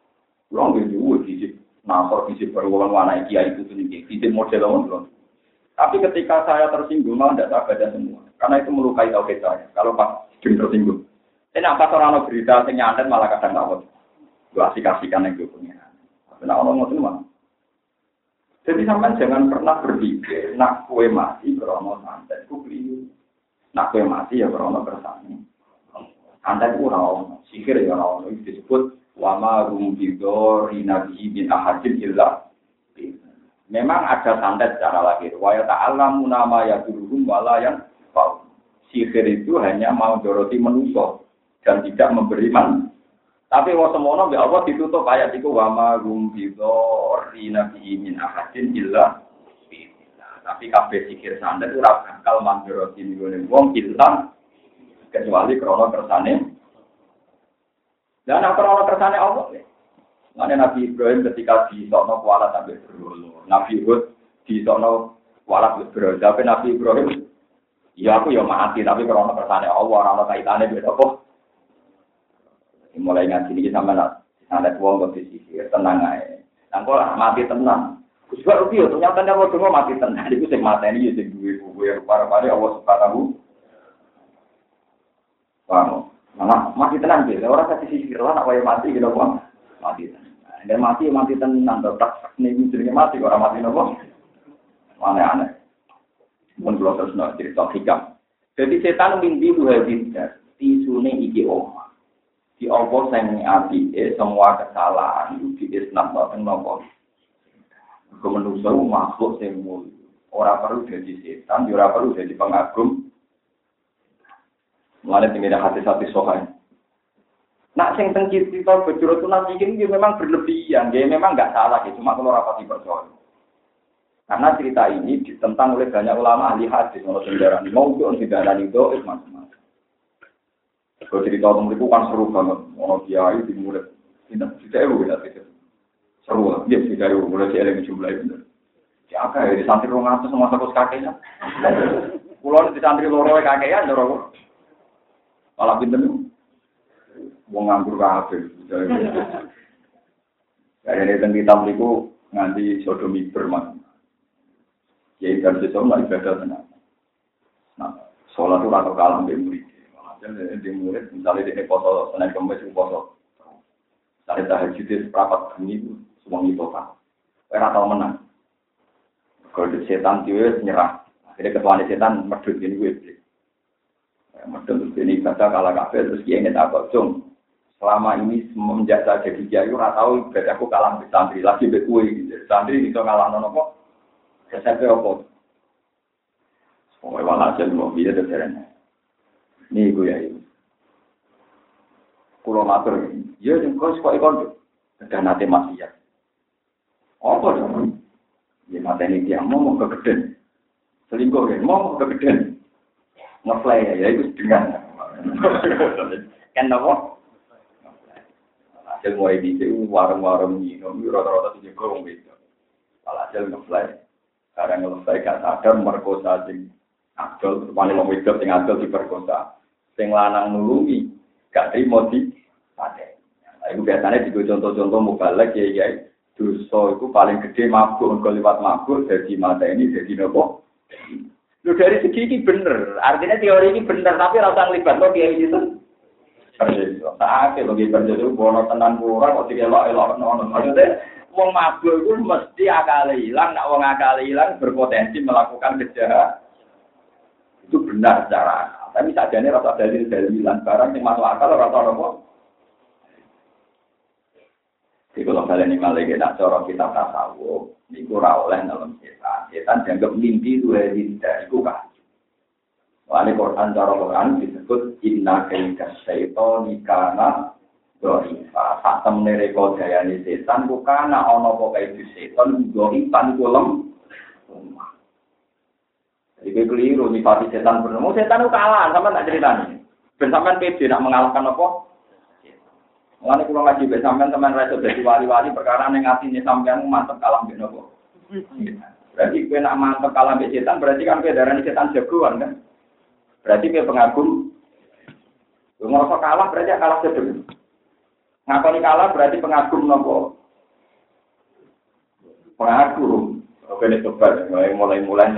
Long itu, gizi, nampor gizi berulang warna kiai itu tinggi, gizi model orang Tapi ketika saya tersinggung, malah tidak saya baca semua. Karena itu melukai tauhid saya. Kalau pas jeng tersinggung. Ini apa orang berita yang nyantet malah kadang ngawet. Gua asik-asikan yang gue punya. Tapi nak orang ngomong semua. Jadi sampai jangan pernah berpikir, nak kue mati berono santet, ku beli. Nak kue mati ya berono bersani. Santet ku rawon, sihir ya rawon. Itu disebut wama rumbidor inabi bin ahadin illa. Memang ada santet secara lahir. Wa ta'allamu nama ya duruhum wala yang fa'u. Sihir itu hanya mau doroti manusia dan tidak memberi man. Tapi wa semono mbek Allah ditutup ayat iku wa ma rum bidori nabi min ahadin illa billah. Tapi kabeh sihir santet ora bakal mandoroti ngene wong illa kecuali krana kersane. Dan krana kersane Allah. Mane Nabi Ibrahim ketika di sono kuala sampai berolo. Nabi Hud di sono kuala berolo. Tapi Nabi Ibrahim, ya aku ya mati tapi karena kersane Allah ora ana kaitane beda apa. Mulai ngaji iki sampean ada wong kok disisir tenang ae. Nang kok mati tenang. Gus kok piye ternyata nek wong mati tenang iku sing mateni ya sing duwe kuwe para-para Allah Subhanahu wa ta'ala. Mana mati tenang iki ora kasih sisir lah nek wae mati gitu kok. Mati tenang. Dan mati mati tenang tetap nih jenenge mati orang mati nopo. Aneh-aneh. Mun kula terus nak cerita hikam. Jadi setan mimpi dua bidar, tisune iki omah. Di Allah sing ati semua kesalahan itu di Islam boten nopo. Kemenungso makhluk sing mulia. Ora perlu jadi setan, ora perlu jadi pengagum. Mulane tinggal hati-hati sokan. Nak sing teng cerita bejoro nanti ini memang berlebihan, dia memang nggak salah, ya. Cuma kalau rapati percaya. Karena cerita ini ditentang oleh banyak ulama ahli hadis, kalau sendaran mau untuk sendaran itu macam-macam. Kalau cerita tentang itu kan seru banget, mau kiai dimulai, tidak tidak ewu ya itu seru, dia tidak ewu mulai kiai jumlah itu. Siapa ya di santri orang atas sama satu kakeknya, pulau di santri loro kakeknya, dorong malah pinter. Wong nganggur kabeh. Karene teng kitab niku nganti sodomi bermak. Ya ikan sesuk lan ibadah tenan. Nah, salat ora kok kalah mbek murid. Maksudnya di murid misalnya dene foto Senin Kamis foto. Sare tahajud seprapat bengi semua itu Pak. Ora tau menang. Kalau setan dhewe nyerah. Akhirnya ketuane setan medhot ngene kuwi. Medhot ini kata kalah kabeh terus kiye nek apa cung. Selama ini semenjak saya jadi kiai, ora tahu ibadahku kalah di santri lagi be kowe gitu. Santri iso ngalahno napa? Kesepe opo? Oh, wala jan mau biye terene. Niku ya iki. Kulo matur, ya ning kos kok ikon dan nate maksiat. Apa to? Ya mateni dia mau kegeden. Selingkuh ya, mau kegeden. Ngeplay ya itu dengan. Kan napa? Hasil mulai di sini warung-warung minum, rata-rata tujuh gorong gitu. Hasil ngeplay, karena ngeplay kan sadar merkosa sing adol, wani wong wedok sing adol diperkosa, sing lanang nulungi, gak terima di pate. Nah, itu biasanya juga contoh-contoh mubalek ya ya. Dosa itu paling gede mabuk, kalau lewat mabuk jadi mata ini jadi nopo. Lu dari segi ini bener, artinya teori ini bener, tapi rasa ngelibat lo kayak gitu. Persis, tak ada lagi berjadi bono tenan kurang, kok tiga elok elok nono. Maksudnya, wong mabuk itu mesti akal hilang, nak wong akal hilang berpotensi melakukan kejahatan. Itu benar secara akal. Tapi sajane rasa dalil dalilan barang yang masuk akal rasa nopo. Jadi kalau kalian ini malah nak cara kita tasawuf, niku ora oleh dalam setan. Setan dianggap mimpi dua tidak iku kan. Wali Quran cara Quran disebut inna kaita syaitani kana dhaifa. Satem nereko dayane setan ku kana ana apa kae setan dhaifan ku lem. Jadi keliru nyifati setan bener. Mau setan ku kalah sampean tak critani. Ben sampean pede nak mengalahkan apa? Mulane kula ngaji ben sampean teman ra iso dadi wali-wali perkara ning atine sampean mantep kalah ben apa? Berarti kowe nak mantep kalah ben setan berarti kan kowe darani setan jagoan kan? Berarti dia pengagum. Ngerasa kalah berarti kalah sedeng. Ngakoni kalah berarti pengagum nopo. Pengagum. Oke, ini coba mulai-mulai nanti.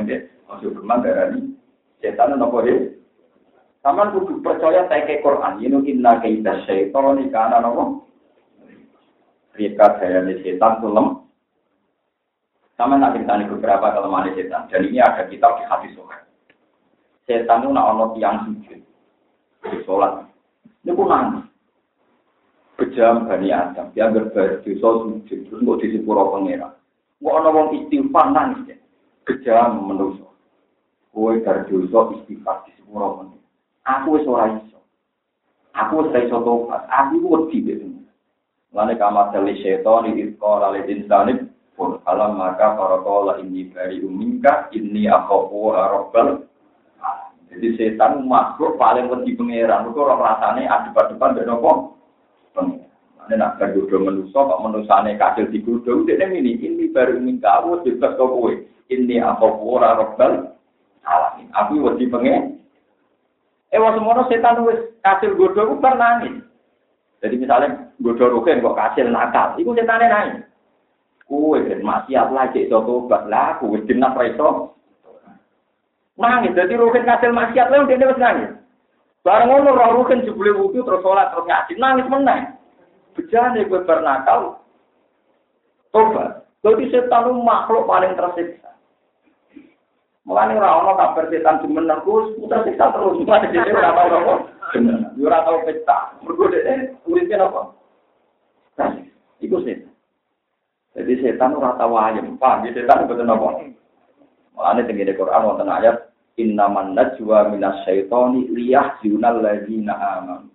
Ojo geman darani setan napa he. Saman kudu percaya teke Quran, yen inna kaida syaitan kana napa? Rika dayane setan tulem. Sama nak ceritani beberapa kelemahan setan. Dan ini ada kitab di hadis sahih. Setan itu nak ono tiang sujud di sholat. Ini pun nangis. Bejam Bani Adam. Dia berdosa sujud. Terus mau di sepuro pengira. Mau ono wong istighfar nangis. Bejam menuso. Kue berdosa istighfar di sepuro pengira. Aku wis ora iso. Aku wis ora iso tobat. Aku wedi gitu. Lane kamar dari setan itu kalau oleh insani pun alam maka para kola ini dari umingka ini aku rabbal. Jadi setan makhluk paling wedi pangeran. Mergo ora rasane adep-adepan mbek napa? Pangeran. Nek nak berdoa manusa kok manusane kasil digodhong dene ini ini baru umingka aku bebas kok kowe. Ini aku rabbal alamin. Aku wedi pangeran. Eh wong semono setan wis kasil godhong ku bar nangis. Jadi misalnya godhong rugen kok kasil nakal, iku setane nangis. Kuwe ben maksiat lagi iso tobat lah, kuwe jeneng preso. Nangis dadi rugen kasil maksiat lha dene wis nangis. Bareng ngono roh rugen jebule wudu terus salat terus ngaji nangis meneh. Bejane kowe bar nakal. Tobat. Dadi setan makhluk paling tersiksa. Mulane ora ana kabar setan jumeneng ku putar siksa terus. Mulane dhewe ora tau apa. Yo ora tau pesta. Mergo dhewe uripe napa? Nah, iku setan. Jadi setan ora tau ayem. Paham setan mboten napa. Mulane teng Quran wonten ayat innaman najwa minas syaitani liyahzunal ladzina amanu.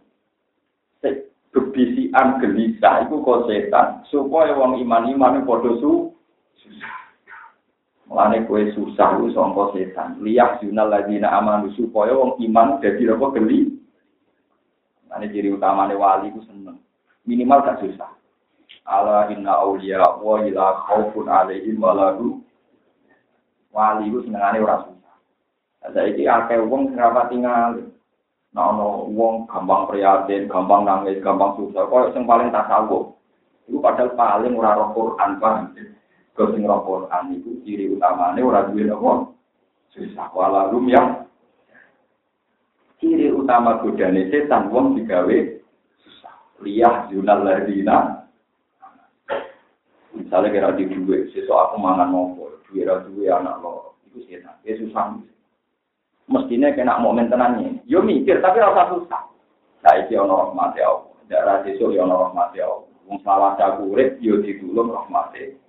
Bebisian gelisah iku kok setan supaya wong iman-iman padha su susah. Mulane kowe susah ku sangka setan. Liyah junal ladina amanu supaya wong iman dadi apa geli. Mulane ciri utamane wali ku seneng. Minimal gak susah. Ala inna auliya wa ila khaufun alaihim wa lahum. Wali ku senengane ora susah. Saiki akeh wong sing ora tinggal. Nek ana wong gampang prihatin, gampang nangis, gampang susah, koyo sing paling tasawuf. Iku padahal paling ora roh Quran paham. Sing roh Quran itu ciri utamane ora duwe apa susah wala rum yang ciri utama godane setan wong digawe susah liyah junal ladina misalnya kira di duwe sesuk aku mangan nopo duwe ra duwe anak loro iku setan ya susah mestine kena momen tenane yo mikir tapi ora usah susah saiki ana rahmat ya Allah darah sesuk yo ana rahmat ya Allah wong selawat aku urip yo ditulung rahmate.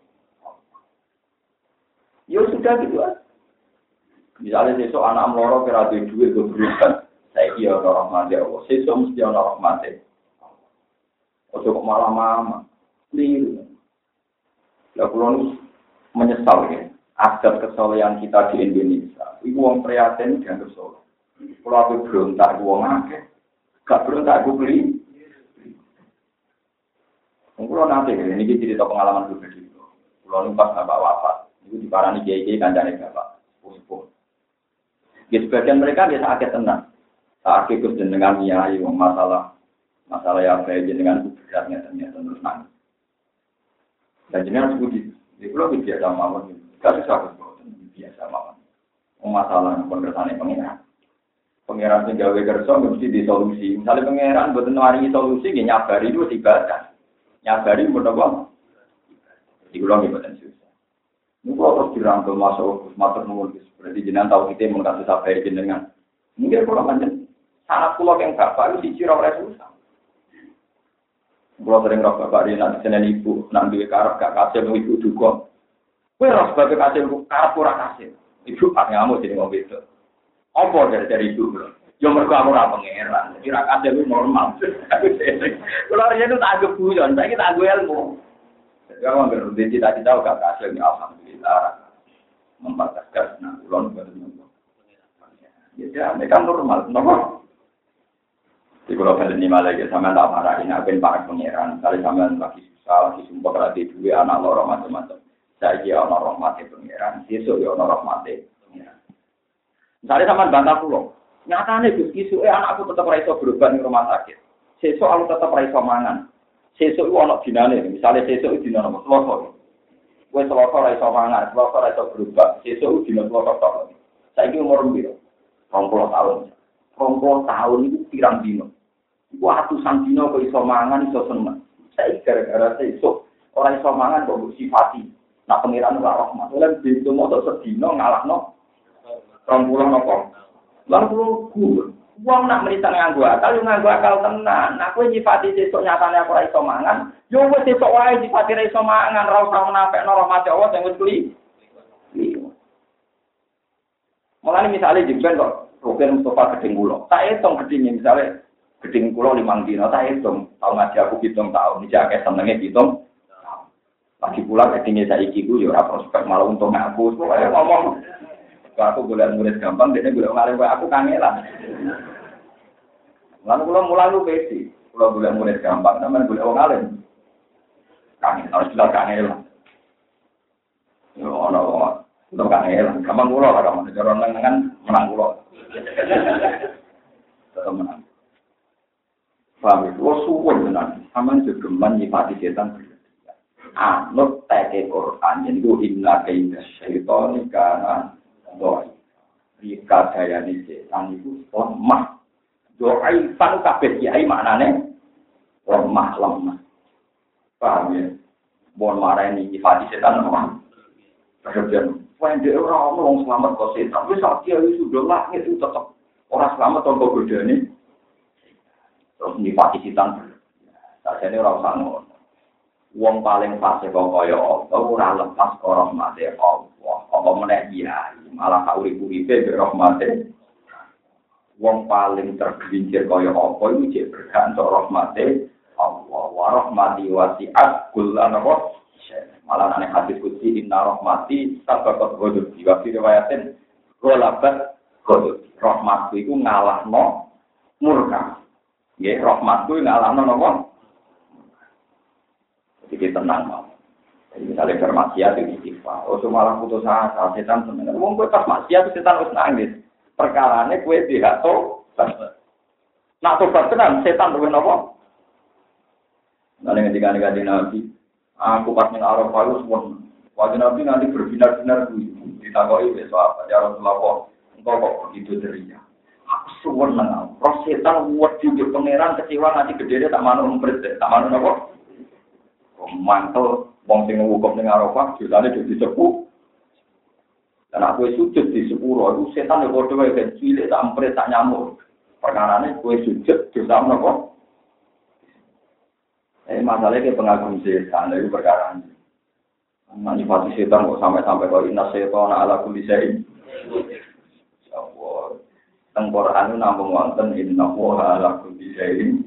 Ya sudah gitu aja. Misalnya besok anak meloro kira duit duit gue berikan, saya kira orang rahmat ya Allah. Besok mesti orang rahmat ya. Ojo kok malah mama, liru. Ya kulon menyesal ya. Adat kesolehan kita di Indonesia. Ibu orang prihatin dan kesoleh. Kalau aku berontak, ibu orang akeh. Gak berontak, aku beli. Kulon nanti ini cerita pengalaman pribadi. Kulon pas bapak wafat. Itu diparani kiai-kiai kancane bapak. Sepuh-sepuh. Ya sebagian mereka biasa sakit tenang. Sakit terus jenengan nyai masalah masalah yang baik jenengan beratnya ternyata terus nangis. Dan jenengan sebut di pulau biasa mawon. Gak susah biasa mawon. Masalah pengertian pengiran. Pengiran sing gawe kerja mesti disolusi. Misalnya pengiran mboten maringi solusi nggih nyabari itu ibadah. Nyabari mboten apa? Di pulau mboten susah. Ini kalau terus dirangkul masuk matur nuwun berarti jenengan tahu kita mengkasih sabar jenengan. Mungkin kalau panjen sangat pulau yang bapak itu siji ora susah. Kalau sering roh bapak di nanti senen ibu nang duwe karep gak kasih mau ibu duka. Kowe roh sebagai kasih karep ora kasih. Ibu pak ngamuk jadi ngombe itu. Apa dari dari ibu? Yo mergo aku ora pangeran. Kira kasih lu normal. Kalau dia itu tak anggap guyon, saiki tak anggap ilmu. Kalau nggak cita-cita gak kasih ini alhamdulillah membataskan nah ulon betul. Ya, mereka normal, normal. Di kalau kalian ini malah ya sama tak marah ini akan para pangeran. Kali sama lagi susah, lagi sumpah lagi dua anak lorong macam-macam. Saya kira orang mati pangeran, besok ya orang mati pangeran. Misalnya sama bantah pulau, nyatanya Gus Kisu, eh anakku tetap raiso berubah di rumah sakit. Besok aku tetap raiso mangan. Sesuk itu ada dinane, misalnya sesuk itu dinane apa? Selasa. Kue selasa ora iso mangan, selasa ora iso berubah. Sesuk itu dinane selasa tok. Saiki umur piro? dua puluh tahun. dua puluh tahun itu pirang dino. Iku atusan dino kok iso mangan iso seneng. Saiki gara-gara sesuk ora iso mangan kok mbok sifati. Nak pengiran ora rahmat. Lan bintu moto sedina ngalahno dua puluh napa? dua puluh guru. Wong nak menitan nganggo akal, yo nganggo akal tenan. Nah, kowe nyifati sesuk nyatane aku ora iso mangan, yo wis sesuk wae nyifati ora iso mangan, ora usah menapekno rahmat Allah sing wis kli. Mulane misale jemben kok Rukin Mustafa gedeng kula. Tak hitung gedenge misale gedeng kula limang dina, tak hitung tau ngaji aku pitung tahun, iki akeh senenge pitung. Lagi pula gedenge saiki ku yo ora prospek malah untung aku, pokoke ngomong. Kalau aku boleh murid gampang, dia boleh ngalir aku kangelan. Lalu kalau mulai lu besi, kalau boleh murid gampang, namanya boleh orang ngalir. Kangen, harus jelas kangelan. Yo, no, no kangelan. Gampang pulau lah, kamu jalan lengan menang pulau. Tetap menang. Paham itu? Wah suwon menang. Aman juga menyifati setan. Anut teke Quran, jadi itu inna kaidah syaitan karena doa. Jika daya di setan itu lemah. Doa ifan kabeh kiai maknane lemah lemah. Paham ya? Bon marah ini nyifati setan lemah. Kemudian, when dia orang ngomong selamat kau setan, wis dia sudah langit itu tetap orang selamat tanpa godane. Terus nyifati setan. Sajane ora usah ngono. Wong paling fase kok kaya apa ora lepas karo rahmate Allah. Apa meneh iya, malah kaurip-uripe be rahmate. Wong paling tergelincir kaya apa iku jek berkah entuk rahmate Allah. Wa rahmati wasi'at kullan apa? Malah nek hadis kutsi inna rahmati sabaqat ghadab. Di riwayatin golabat ghadab. Rahmatku iku ngalahno murka. Nggih, rahmatku ngalahno napa? Jadi tenang mau. Jadi misalnya bermaksiat itu istighfar. Oh malah putus asa, setan sebenarnya. Wong kowe pas maksiat setan wis nangis. Perkarane kowe tidak to. Nak tobat tenan setan luwih napa? Nang ngendika kanjeng Nabi, aku pas ning Arafah wis pun. Kanjeng Nabi nanti berbinar-binar kuwi. Ditakoki wis apa? Ya Rasulullah, engkau kok begitu ceria. Aku suwun nang. Roh setan wedi di pangeran kecewa nanti gedene tak manut umpret, tak manut napa? Mantel wong sing ngukup ning Arafah jilane dadi sepuh. Dan aku sujud di sepuro itu setan yo padha wae kan cilik tak ampre tak nyamuk. Perkarane kowe sujud dosa menapa? Eh masalahnya pengagum setan itu perkara ini. Manipulasi setan kok sampai-sampai kok inna setan ala kulli syai'. Allah. Teng Quran namung wonten inna wa ala kulli syai'.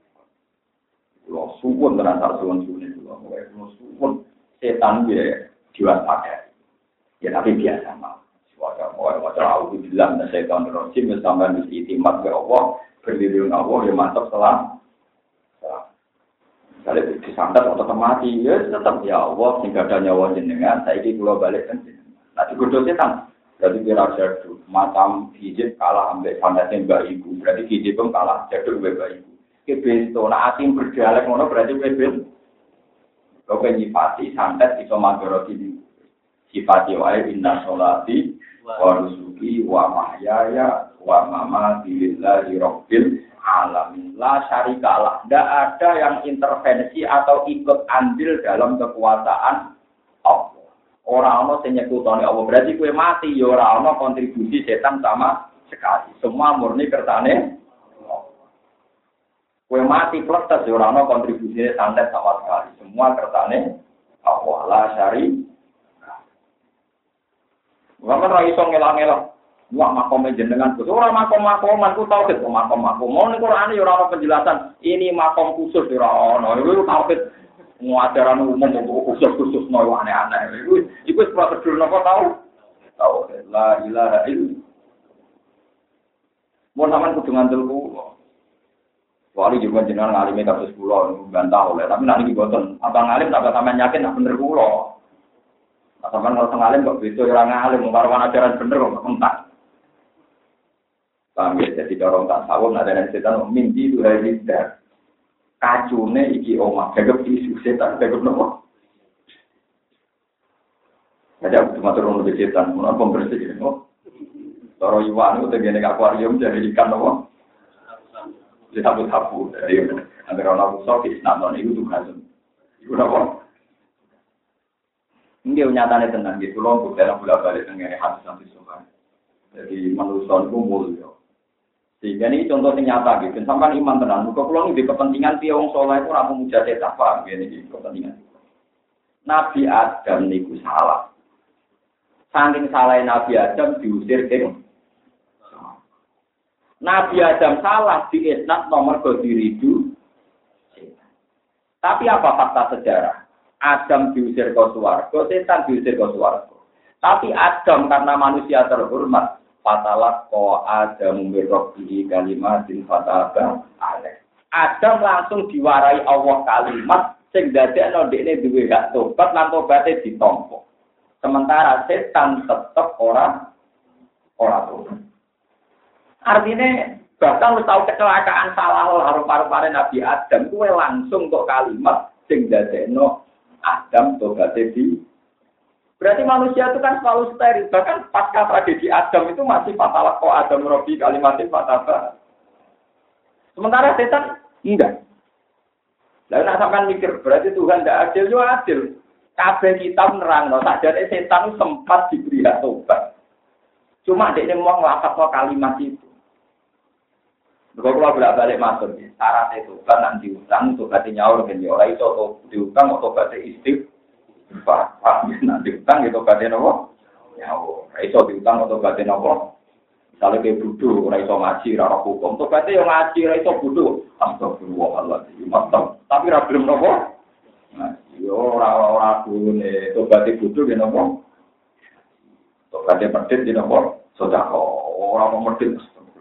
Lo suwun tenan sak suwun-suwune kula. Lo suwun setan dia diwaspadai. Ya tapi biasa mah. Suara orang macam aku bilang dan setan rojim sampai mesti itimat ke Allah, berlindung Allah ya mantap selam. Kalau disantet atau mati, ya tetap ya Allah sehingga ada nyawa jenengan. Saya ini kula balik kan. Nanti kudu setan. Berarti kira jadu macam hijab kalah ambek sandatnya mbak ibu. Berarti hijab pun kalah jadu mbak ibu. Kebesto, nah asim berdialek ngono berarti bebel. Kau penyifati santet iso magoroti di sifati wae inna sholati wa nusuki wa mahyaya wa mamati lillahi rabbil alamin. La syarikalah. Tidak ada yang intervensi atau ikut andil dalam kekuasaan Allah. Orang-orang sing nyekutoni Allah berarti kowe mati ya ora ana kontribusi setan sama sekali. Semua murni kersane kue mati pletes, orang no kontribusinya santet sama sekali. Semua kertane Allah la syari. Bukan rai song ngelang-ngelang. Wah makom jenengan khusus. Orang makom-makoman ku tau ke makom-makom. Mau nih Quran ini orang penjelasan. Ini makom khusus orang no. Itu tau ke ajaran umum khusus-khusus no aneh-aneh. Itu itu prosedur nopo tahu. Tahu la ilaha illallah. Mau sampean kudu ngandel ku. Wali juga jenengan ngalimi kasus kula bantah oleh tapi nanti boten abang ngalim tak sampean yakin nak bener kula. Nah, sampean kalau ngalim kok beda ora ngalim karo ajaran bener kok entak. Paham ya jadi dorong tak sawung ada setan mimpi itu hari dah. Kacune iki omah gagap isu setan gagap nopo. Ada aku cuma turun lebih setan, mau apa bersih no. Loro iwan itu tegene akuarium jadi ikan apa? Di sapu-sapu. Jadi antara orang musuh di nonton itu tugas. Itu apa? Ini nyatanya tenang gitu loh. Untuk dalam bola balik dengan hadis nanti suka. Jadi manusia itu mulia. Sehingga ini contoh yang nyata gitu. Sampai iman tenang. Muka pulang di kepentingan tiang soleh itu ramu mujadid apa? Ini kepentingan. Nabi Adam niku salah. Saking salah Nabi Adam diusir ke. Nabi Adam salah di isnad nomor kediridu. Tapi apa fakta sejarah? Adam diusir ke swarga, setan diusir ke swarga. Tapi Adam karena manusia terhormat, fatalah ko Adam mirrobihi kalimatin fataba alaih. Adam langsung diwarai Allah kalimat sing dadekno dekne duwe hak tobat lan tobaté ditampa. Sementara setan tetep ora ora tobat. Artinya bahkan lu tahu kecelakaan salah harum-harum Nabi Adam kuwe langsung kok kalimat sing dadekno Adam tobaté di. Berarti manusia itu kan selalu steril. Bahkan pasca tragedi Adam itu masih fatalah kok Adam robi kalimatin fataba. Sementara setan enggak. Lalu nak sampean mikir berarti Tuhan tidak adil, yo adil. Kabeh kita nerangno sakjane setan sempat diberi hak tobat. Cuma dekne mau nglafadzno kalimat itu. Kalau kalau bolak-balik masuk, syarat itu kan nanti diutang, tobatnya nyaur kan ya orang itu atau diutang atau tobatnya istighfar. Nanti diutang itu tobatnya nopo nyaur. Itu diutang atau tobatnya nopo. Misalnya kayak bodoh, orang itu ngaji, rara hukum. Tobatnya yang ngaji, orang itu bodoh. Astagfirullahaladzim, mantap. Tapi ra belum nopo. Ngaji, orang-orang dulu nih, tobatnya bodoh ya nopo. Tobatnya medit ya nopo. Sudah kok, orang mau medit.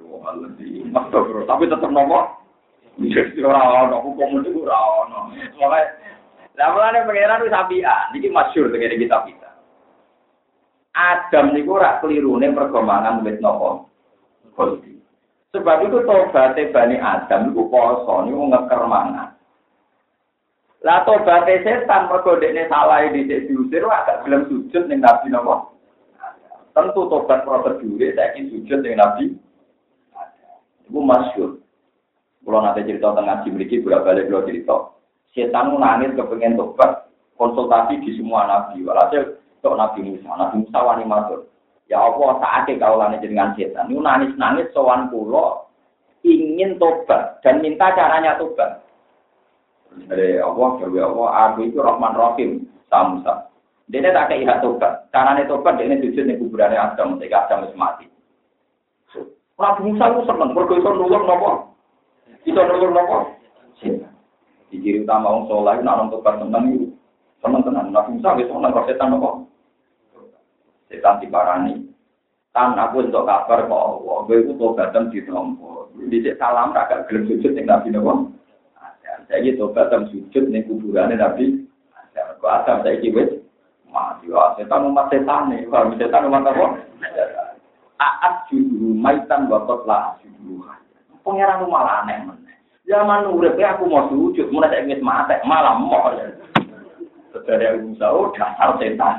Tapi tetap nomor, jadi orang hukum itu orang. Makanya, lama-lama pengiran itu sapian. Ini masyhur dengan kita kita. Adam itu rak keliru nih perkembangan wit nopo. Sebab itu tobaté Bani Adam itu poso niku ngeker mangan. Lah tobaté setan mergo dekne salah dhisik diusir agak gelem sujud ning Nabi nopo. Tentu tobat prosedure saiki sujud ning Nabi. Itu masyhur. Kalau nanti cerita tengah ngaji memiliki bolak-balik kalau cerita. Setan nangis kepengen tobat, konsultasi di semua nabi. Walhasil untuk Nabi Musa, Nabi Musa wani matur. Ya Allah, saatnya kaulane jenengan setan. Itu nangis-nangis sowan kula ingin tobat dan minta caranya tobat. Dari Allah, ya Allah, aku itu Rahman Rahim, sa Musa. Dia tak kaya hak tobat. Caranya tobat dia sujud ning kuburane Adam, ketika Adam wis mati. Nabi Musa itu seneng, mergo iso nulung napa? Iso nulung napa? Setan. Di ciri utama wong saleh nek nang tobat seneng iku. Seneng tenan. Nabi Musa wis seneng karo setan napa? Setan diparani. Tan aku entuk kabar kok Allah, kowe iku tobatan ditampa. Dhisik salam ra gak gelem sujud ning Nabi napa? Ada. Saiki tobatan sujud ning kuburane Nabi. Ada. Kok Adam saiki wis mati. Setan umat setane, kok setan umat apa? Aat judul maitan batot lah judul. Pengiran lu malah aneh men. Zaman urip aku mau sujud, mulai saya ingin mati, malah mau ya. Saudara yang Musa, oh dasar setan.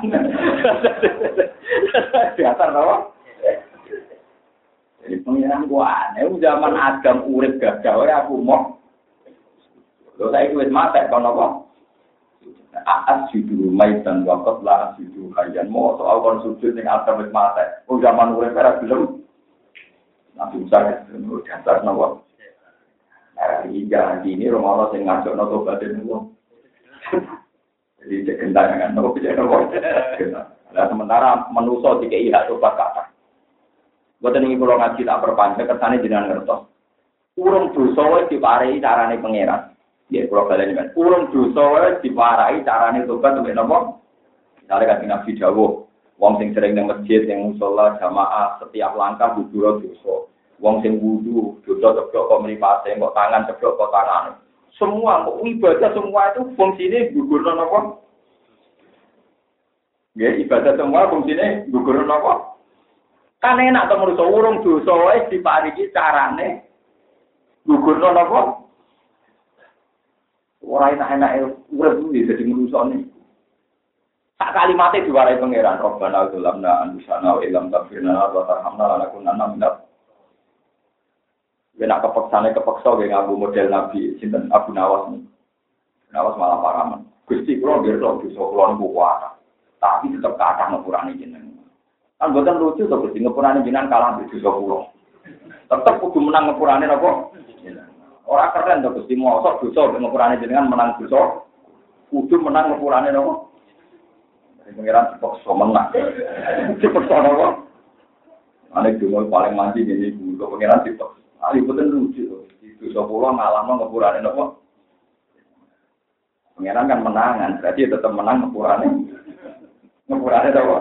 Dasar apa? Jadi pengiran gua aneh, zaman Adam urip gagal, aku mau. Lo saya ingin mati, kalau apa? Aat judul maitan batot lah judul kalian mau soal kon sujud yang Adam wis mati. Oh zaman urip ora belum. Nabi Musa itu dasar napa? Iya, ini Romawi sing ngajokno tobat niku. Jadi kekentangan nopo piye nopo. Lah sementara manusa dikei hak tobat kata. Boten iki kula ngaji tak perpanjang kersane jenengan ngertos. Urung dosa wis diparingi carane pangeran. Ya, kalau kalian kan, urung dosa diwarai carane tobat sampai nopo. Misalnya kan Nabi Dawuh, wong sing sering nang masjid, yang musola jamaah setiap langkah gugur dosa. Wong sing wudu, dosa ceblok kok mripate, kok tangan ceblok kok tangan. Semua kok ibadah semua itu fungsine gugurno nopo? Ya, ibadah semua fungsine gugurno nopo? Kan enak to menurut urung dosa wis diparingi carane gugurno nopo? Orang enak-enak urip kuwi dadi ngrusone. sak kalimatnya diwarai pangeran Rabbana dzalamna anfusana wa illam taghfir lana wa tarhamna lanakunanna minal yen nak kepeksane kepeksa ge nganggo model Nabi sinten Abu Nawas. Nawas malah paraman. Gusti kula nggih kok dosa kula niku kuat. Tapi tetep kathah ngepurane jenengan. Kan boten lucu to Gusti ngepurane jenengan kalah dosa kula. Tetep kudu menang ngepurane napa? Ora keren to Gusti mosok dosa ngepurane jenengan menang dosa. Kudu menang ngepurane napa? Pengiran dipaksa menang. Dipaksa napa? Ane dungo paling mandi ngene iku kok pengiran dipaksa. Ali boten lucu to. Dosa kula ngalahno ngepurane napa? Pengiran kan menangan, berarti tetap menang ngepurane. Ngepurane napa?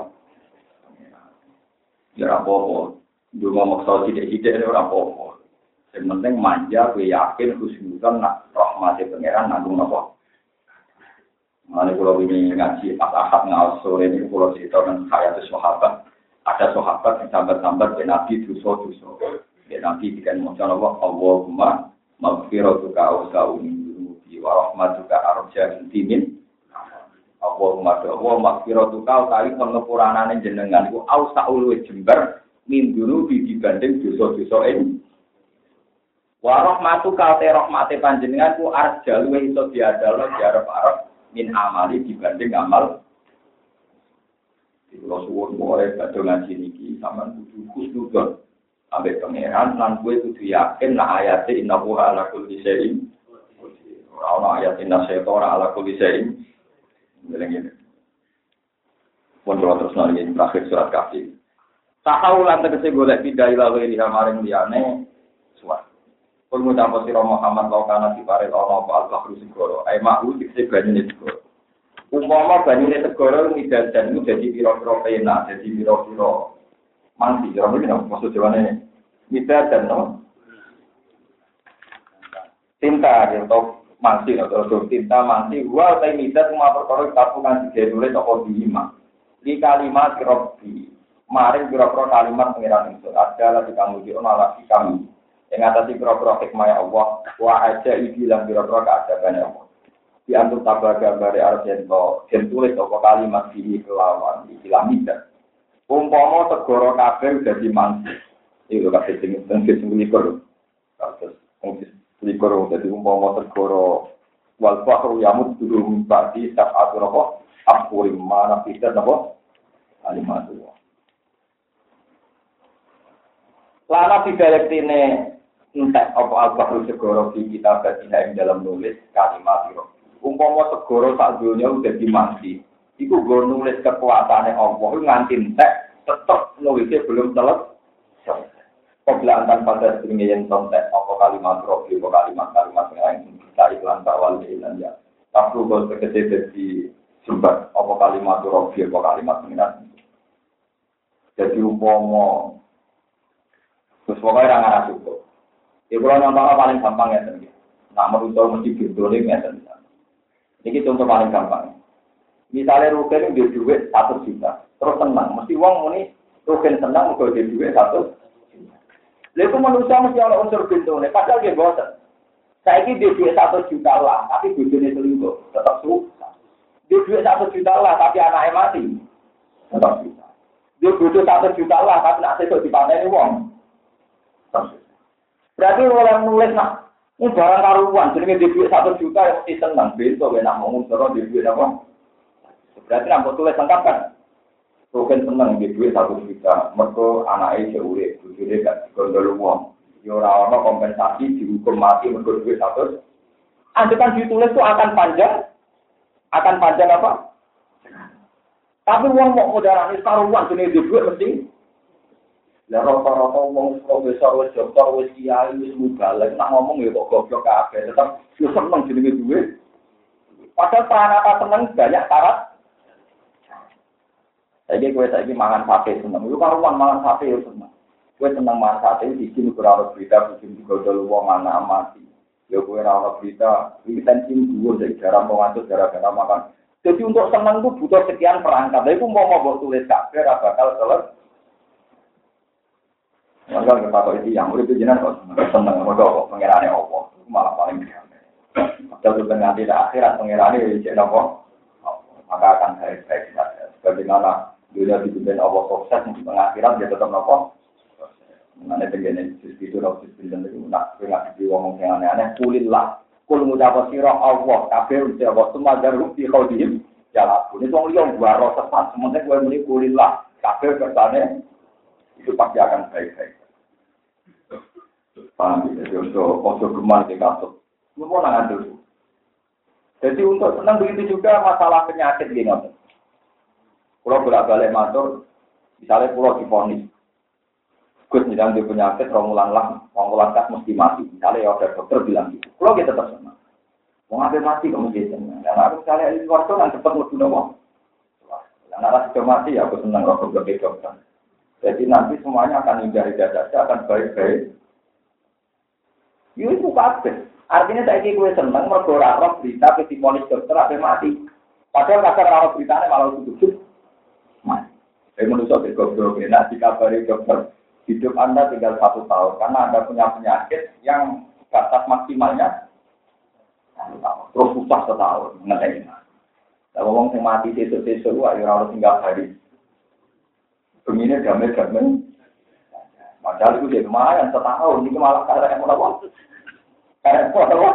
Ya apa-apa. Dungo maksa sithik-sithik ora apa-apa. Yang penting manja, gue yakin, khusnudan, nak rahmati pengiran nanggung napa. Mana kalau ini ngaji pas akad ngawas sore ini kalau cerita dengan saya itu sahabat, ada sahabat yang sambat-sambat dan Nabi dosa-dosa. Dan Nabi dikatakan macam Allah, Allahumma maghfiratuka awsa'u min dunubi wa rahmatuka arja intimin. Allahumma Allah maghfiratuka utawi pengepuranane jenengan iku awsa'u luwih jembar min dunubi dibanding dosa-dosa ini. Wa rahmatuka te rahmate panjenengan ku arja luwih iso diadalo diarep-arep min amali dibanding amal. Di pulau suwun mulai pada ngaji niki sama kudu khusnudzon ambek pangeran lan kowe kudu yakin nak ayate innahu ala kulli syai'in ora ana ayat inna syaitana ala kulli syai'in ngene. Pun terus nang terakhir surat Kahfi. Tahawulan tegese golek pindah ila wiri maring liyane suwat. Kul mutapa sira Muhammad kau kana diparel ana apa al-bahru segara. Ai mahu dikse banyune segara. Umpama banyune segara midadan iku dadi pira-pira pena, dadi pira-pira mandi. Ora mungkin maksud jawane midadan no. Tinta atau mandi atau tinta mandi wa ta midad cuma perkara kapungan digenulis apa diima. Li kalimat rabbi. Maring pira-pira kalimat pengiran itu adalah dikamuji ana lagi kami. Yang atas pira-pira hikmah Allah, wa aja iki lan pira-pira keadaban Allah. Di antuk tabah gambare arjento, den tulis apa kalimat iki kelawan iki lamida. Umpama segara kabeh dadi mangsi. Iku kabeh sing sing likur. Terus mungkin likur dadi umpama segara wal bahru yamut durung badi sa'atur apa? Apurim mana pisan apa? Kalimat Allah. Lana bidalektine entek apa al-bahru segara di kitab ing dalam nulis kalimat itu. Umpama segara sak donya udah dimandi, iku go nulis kekuasaane Allah nganti entek tetep nulisnya belum selesai. Koblaan tanpa dasarnya yang entek apa kalimat rofi apa kalimat-kalimat yang lain kita iklan tawal dan ya. Tapi kalau sekecil jadi sumber apa kalimat rofi apa kalimat yang jadi umpama terus pokoknya orang arah cukup. Ya kalau nonton paling gampang ya tadi. Nak merusau mesti bintolin ya tadi. Ini contoh paling gampang. Misalnya Rugen dia duit satu juta, terus senang. Mesti uang ini Rugen senang kalau dia duit satu juta. Lalu manusia mesti ada unsur bintolin. Padahal dia bosan. Saya ini dia duit satu juta lah, tapi bintolin selingkuh tetap susah. Dia duit satu juta lah, tapi anaknya mati tetap susah. Dia butuh satu juta lah, tapi nak sesuatu dipanen uang. Berarti orang nulis nak, ini barang karuan, jadi dia duit satu juta yang mesti senang, besok dia nak ngomong terus dia duit apa? Berarti nak tulis lengkap kan? Bukan senang dia duit satu juta, mereka anaknya jauh deh, tujuh gak digondol uang. Ya orang-orang kompensasi dihukum mati mereka duit satu. Anjuran ditulis itu akan panjang, akan panjang apa? Tapi uang mau modalnya karuan, jadi dia duit mesti. Lah rata-rata wong profesor wis doktor wis kiai wis mubalek nak ngomong ya kok goblok kabeh tetep yo seneng jenenge duwe. Padahal pranata seneng banyak syarat. Saiki kowe saiki mangan sate seneng. Yo karuan mangan sate yo seneng. Kowe seneng mangan sate iki sing ora ono berita bikin digodol wong anak mati. Yo kowe ora ono berita intensi dhuwur dari jarang mengatur gara-gara makan. Jadi untuk seneng itu butuh sekian perangkat. Lha iku mau mau tulis kabeh ora bakal selesai. Maka kita tahu itu yang murid jenengan kok seneng mergo pangerane apa malah paling biasa. Padahal sebenarnya tidak akhirat pangerane jadi apa maka akan baik-baik saja. Bagaimana dunia dipimpin Allah sukses di pengakhiran dia tetap nopo. Mana tenggene itu harus dipimpin itu nak nggak diomong yang aneh-aneh. Kulillah, kul mudapa siro Allah kabeh udah Allah semua jarum di kaudim jalan. Ini soal yang baru sesat. Sementara gue muni kulillah kabeh kersane itu pasti akan baik-baik. Paham ya? Jadi untuk untuk gemar di kasut, semua nangan dulu. Jadi untuk senang begitu juga masalah penyakit gini. Kalau bolak-balik matur, misalnya pulau diponis, Gus sedang di penyakit, romulan lah, romulan kas mesti mati. Misalnya ya ada dokter bilang gitu. Kalau kita tetap senang, mau ngambil mati kamu jadi senang. Dan aku misalnya di luar kan cepat mau guna mau. Dan anak sudah mati ya aku senang kalau berbeda dokter. Jadi nanti semuanya akan hindari saja, akan baik-baik. Yuk itu kabeh. Artinya saya gue senang mergora roh berita ke diponis dokter apa mati. Padahal kasar roh beritanya malah tutup. Mati. Saya menusuk ke goblok. Nah, dikabari dokter, hidup Anda tinggal satu tahun karena Anda punya penyakit yang batas maksimalnya satu tahun. Terus susah setahun. Ngerti. Kalau ngomong yang mati sesuk-sesuk, wah, ya harus tinggal hari. Begini damai-damai. Padahal itu jadi lumayan setahun. Ini malah karena yang mau karena apa?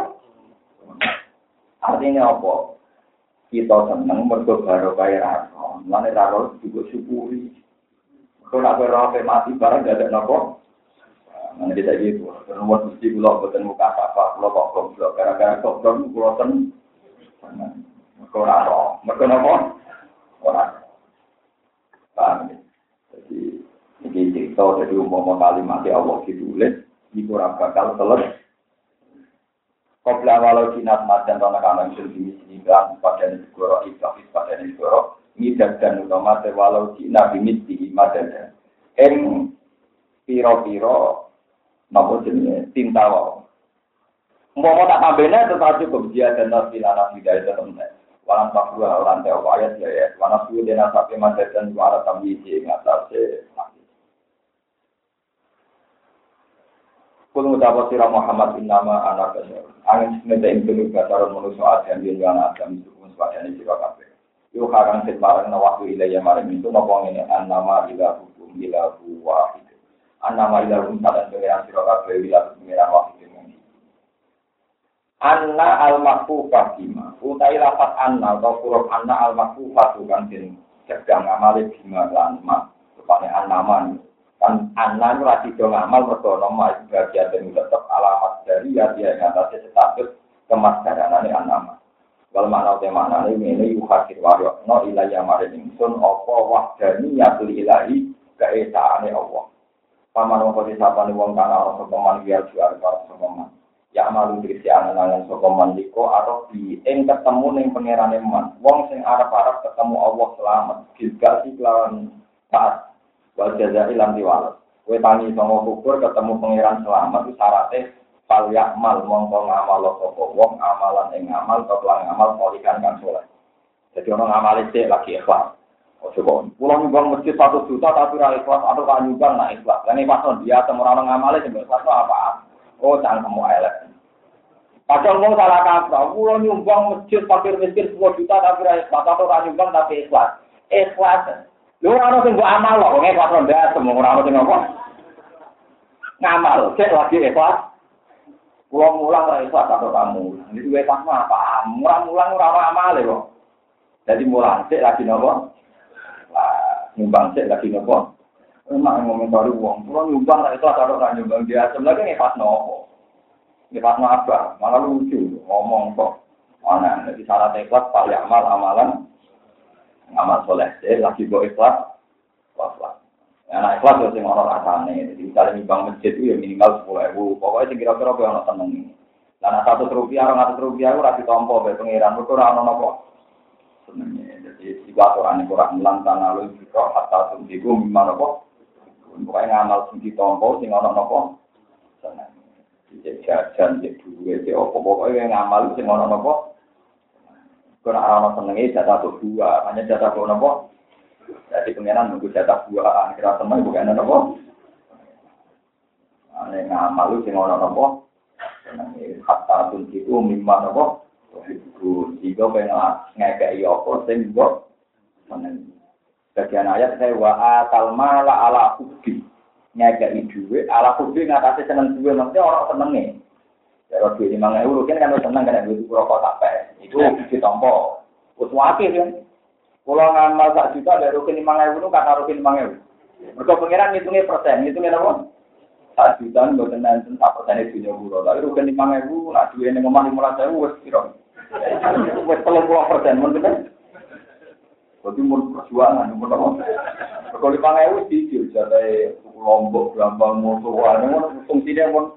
Artinya apa? Kita senang mergo baru kaya raro. Mana raro juga syukuri. Kalau nak berapa mati barang tidak ada nopo. Mana kita gitu. Kalau mesti pulau bukan muka apa, pulau kok goblok. Gara-gara goblok pulau ten. Mergo raro. Mergo nopo? Orang. Paham. Jadi ini cerita dari umum kalimat Allah ditulis. Ini kurang bakal selesai. Kopla walau jinat madan tanah kanan sendiri sini bilang pada negoro ikhlas pada negoro ini dan utama walau jinat bimit di madan em piro piro nopo jenis tinta wow mau tak tambahnya tetapi kebiasaan dan nasilah tidak ada teman walang tak dua orang teh ayat ya ya walang sudah dan sampai madan suara tambi di atas Kul mutawat sirah Muhammad bin nama anak besar. Angin semeta impenu basaran manusia adam yang yana adam itu pun sepadanya sirah kabeh. Yuk harang setbarang na waktu ilayah maring itu ngomong ini an nama ilah hukum ilah wahid. An nama ilah hukum sadan pengiran sirah kabeh ilah pengiran wahid ini. Anna al-makfufah bima. Utai lapat anna atau huruf anna al-makfufah bukan din sedang ngamali bima lanma. Tepatnya an-nama kan anak lagi dong amal mergo nama bagian dan tetap alamat dari ya dia yang atasnya status kemasdaran ini anak. Kalau makna tema ini ini yuhakir wario no ilayah maring sun opo wahdani yatul ilahi keesaane Allah. Paman wong kodi sapane wong kana ana sokoman biar jual karo sokoman. Ya malu dirisi angen-angen sokoman liko atau di ing ketemu ning pangerane man. Wong sing arep-arep ketemu Allah selamat gilgal iklan taat. Wal jazai lam diwales. Kowe tangi songo kubur ketemu pangeran selamat itu syaratnya fal yakmal mongko ngamal sapa wong amalan ing amal kelan amal kolikan kang saleh. Jadi ono ngamal sik lagi ikhlas. Ojo kok pulang nyumbang masjid satu juta tapi ra ikhlas atau kan nyumbang nak ikhlas. Lah nek pas dia temu ora ngamale sing ikhlas apa? Oh jangan kamu elek. Padahal mau salah kaprah, pulang nyumbang masjid fakir miskin sepuluh juta tapi ra ikhlas atau kan nyumbang tapi ikhlas. Ikhlas. Lu ora ono sing mbok amal kok, ngene pas ndak semua ora ono sing apa. Ngamal, cek lagi ikhlas. Pulang-pulang ora ikhlas atau kamu. Iki wis pas apa? Mulang-mulang ora ono amale kok. Jadi mulang cek lagi nopo? Wah, nyumbang cek lagi nopo? Memang ngomong baru wong, pulang nyumbang ora ikhlas atau ora nyumbang dia sebenarnya ngepas nopo. Ngepas apa? Malah lucu ngomong kok. Ana nek salah ikhlas paling amal amalan amal soleh, lagi go ikhlas, ikhlas. Nah ikhlas itu yang orang rasanya. Jadi misalnya nyumbang masjid itu ya minimal sepuluh ribu. Pokoknya kira-kira kau orang seneng. Nah satu rupiah, orang satu rupiah itu rasi tompo, pengiran itu orang nopo senengnya. Jadi jika orang kurang melantan lalu juga hatta sumsiku mimma nopo. Pokoknya ngamal sumsi tompo, sing orang nopo seneng. Jadi jajan, jadi duit, jadi apa pokoknya ngamal sing orang nopo. Karena orang senengnya jatah dua, hanya jatah dua nopo. Jadi pengenan nunggu jatah dua, kira teman bukan nopo. Ane ngamal lu sing ono nopo. Senengnya hatta tunjiku mimma nopo. Itu jika pengen ngekei apa sing mbok seneng. Bagian ayat saya wa atal mala ala hubbi. Ngekei duwe ala hubbi ngatasi seneng duwe maksudnya orang senenge. Ya duwe lima ribu kan kan seneng kan duwe rokok sampai. Itu ditompo. Wis wakil kan. Kalau ngamal sak juta dari rukin lima ribu itu kata rukin lima ribu. Mereka pengiran ngitungnya persen, ngitungnya apa? Sak juta nggak tenang tentang persen itu punya buro. Tapi rukin lima ribu, nak duit yang ngomong lima ratus ribu, wes kira. Wes kalau puluh persen, mungkin. Jadi mau perjuangan, mau apa? Kalau lima ribu dijual, jadi lombok, gampang, musuhan, fungsinya pun.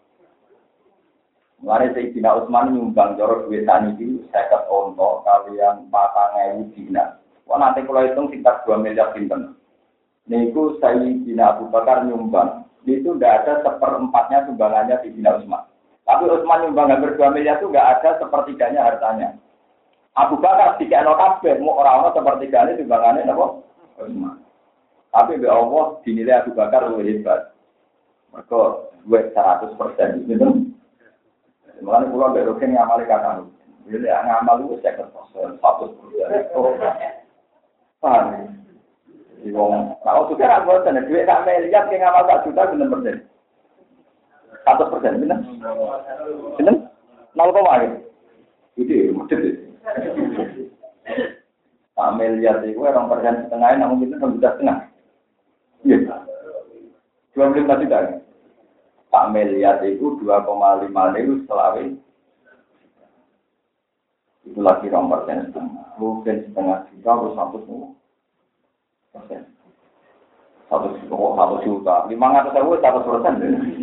Mulai Sayyidina Utsman nyumbang jorok duit tani itu seket onto kalian patang ewu dina. Wah nanti kalau hitung sekitar dua miliar pinten. Niku Sayyidina Abu Bakar nyumbang. Itu tidak ada seperempatnya sumbangannya Sayyidina Utsman. Tapi Utsman nyumbang hampir dua miliar itu tidak ada sepertiganya hartanya. Abu Bakar tiga notabene mau orang-orang sepertiganya sumbangannya apa? Utsman. Tapi be Allah dinilai Abu Bakar lebih hebat. Mereka duit seratus persen gitu. Mulane kula mbek roken ngamali kata. Jadi ngamal itu saya kertas satu persen. Paham? Di wong, kalau sudah ra boten duit sak miliar ki ngamal sak juta bener persen. seratus persen bener. Bener? nol koma lima. Itu mesti. Sak miliar itu orang persen setengah namun itu satu juta setengah. Iya. dua puluh lima juta. Sak miliar itu dua koma lima ribu selawe. Itu lagi nomor persen setengah. Mungkin setengah juta atau satu persen. Satu satu juta. Lima ratus ribu satu persen.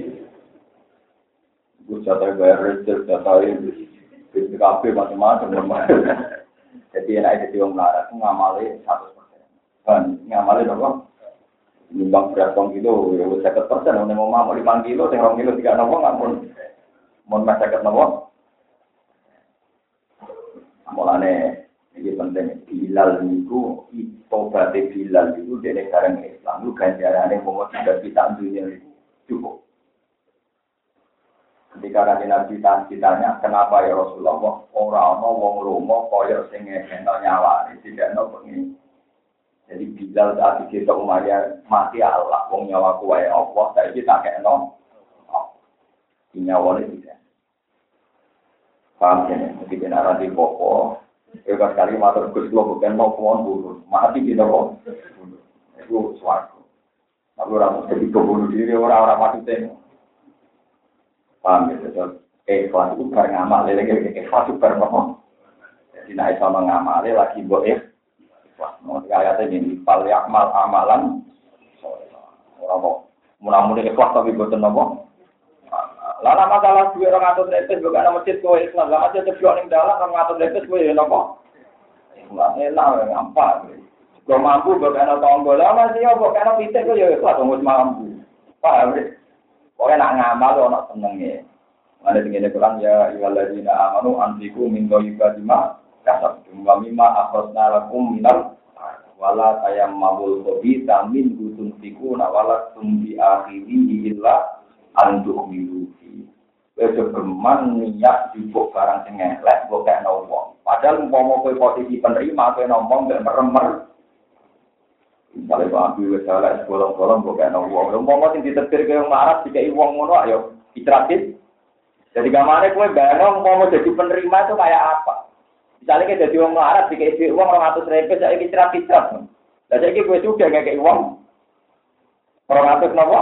Gue jatuh bayar reser, jatuh ini. B P K B macam-macam. Jadi enak jadi orang larat itu ngamalin satu persen. Kan ngamalin apa? Nyumbang berat kong kilo, ya seket persen. Orang mau mau lima kilo, yang kilo tiga nopo nggak pun, mau mas seket nopo. Mulane ini penting. Bilal itu, obat Bilal itu dari sekarang Islam itu ganjarannya mau tidak kita dunia itu cukup. Ketika kanjeng Nabi ditanya, kenapa ya Rasulullah orang mau wong lomo koyo sing ngekeno nyawane tidak ono pengen. Jadi Bilal saat kita Umayyah mati Allah, wong nyawaku wae Allah, saiki tak kekno. Nyawane tidak. Paham ya, mesti benar di popo. Ya sekali matur Gus kula bukan mau kuwon bunuh, mati kita kok. Itu suatu. Tapi orang mesti dibunuh diri orang-orang mati teng. Paham ya, betul. Ikhlas itu bareng amal, lagi ikhlas itu bareng apa? Jadi naik sama ngamal, lagi buat ikhlas. Mau ayatnya ini, fal yakmal amalan. Orang mau mudah-mudahan ikhlas tapi buatan apa? Lalu masalah dua orang atur lepes, bukan nama masjid kau ikhlas. Lama aja terjual yang dalam, orang atur lepes kau ya apa? Ikhlas, enak, ngampar. Kau mampu, bukan nama tonggol. Lama sih, bukan nama pitek kau ya ikhlas, tunggu mampu. Paham ya? Pokoknya nak ngamal, nak senengnya. Ada tinggi Quran ya, iwaladina amanu antiku min doibadima kasab jumlah mima akhosna lakum minal wala tayam mabul kobi tamin gutun fiku nawala tumbi akhiri illa antuk miluki. Besok keman niat jubuk barang sengelek, bukan nombong. Padahal umpama kowe posisi penerima, kowe nombong dan meremer. Misalnya Pak Abi wis salah bolong-bolong bukan uang. Umpama sing ditetir ke yang marah dikai uang ngono ayo ditratit. Jadi gamane kowe bayang umpama jadi penerima itu kayak apa? Misalnya kita jadi uang marah dikai uang dua ratus ribu saiki ditratit. Lah saiki kowe sudah ngekei uang dua ratus napa?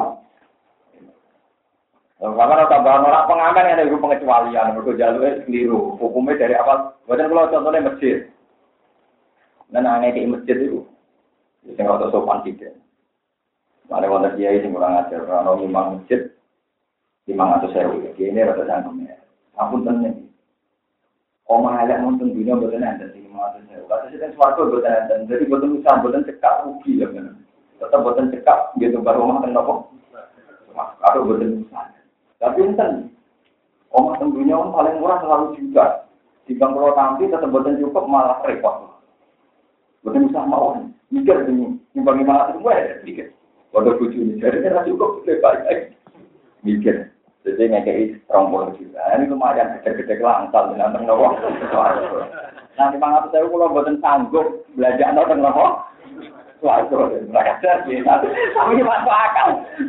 Karena tambahan orang pengamen yang ada pengecualian, mereka jalurnya keliru. Hukumnya dari awal, bukan kalau contohnya masjid. Dan aneh di masjid itu. Sing ora sopan sithik. Mare wonten kiai sing kurang ajar ana imam masjid lima ratus ribu. Kene rada sanggume. Ampun tenan. Omah elek mungkin dunia boten enten lima ratus ribu. Kados sing swarga boten enten. Jadi boten usah boten cekak rugi ya kan. Tetap boten cekak gitu baru omah ten napa. Kado boten usah. Tapi enten. Omah ten dunia paling murah selalu juta. Dibang kalau tampil tetap boten cukup malah repot. Boten usah mawon. Mikir ini, nyumbang lima ratus semua ya, mikir. Waduh bucu ini, jadi kan cukup, lebih baik. Mikir. Jadi ngekei rombol juga. Ini lumayan, gede-gede langsal, dengan tengah. Nah, lima ratus saya kalau buatan sanggup, belajar tentang apa? Waduh, mereka jadi tapi masuk akal.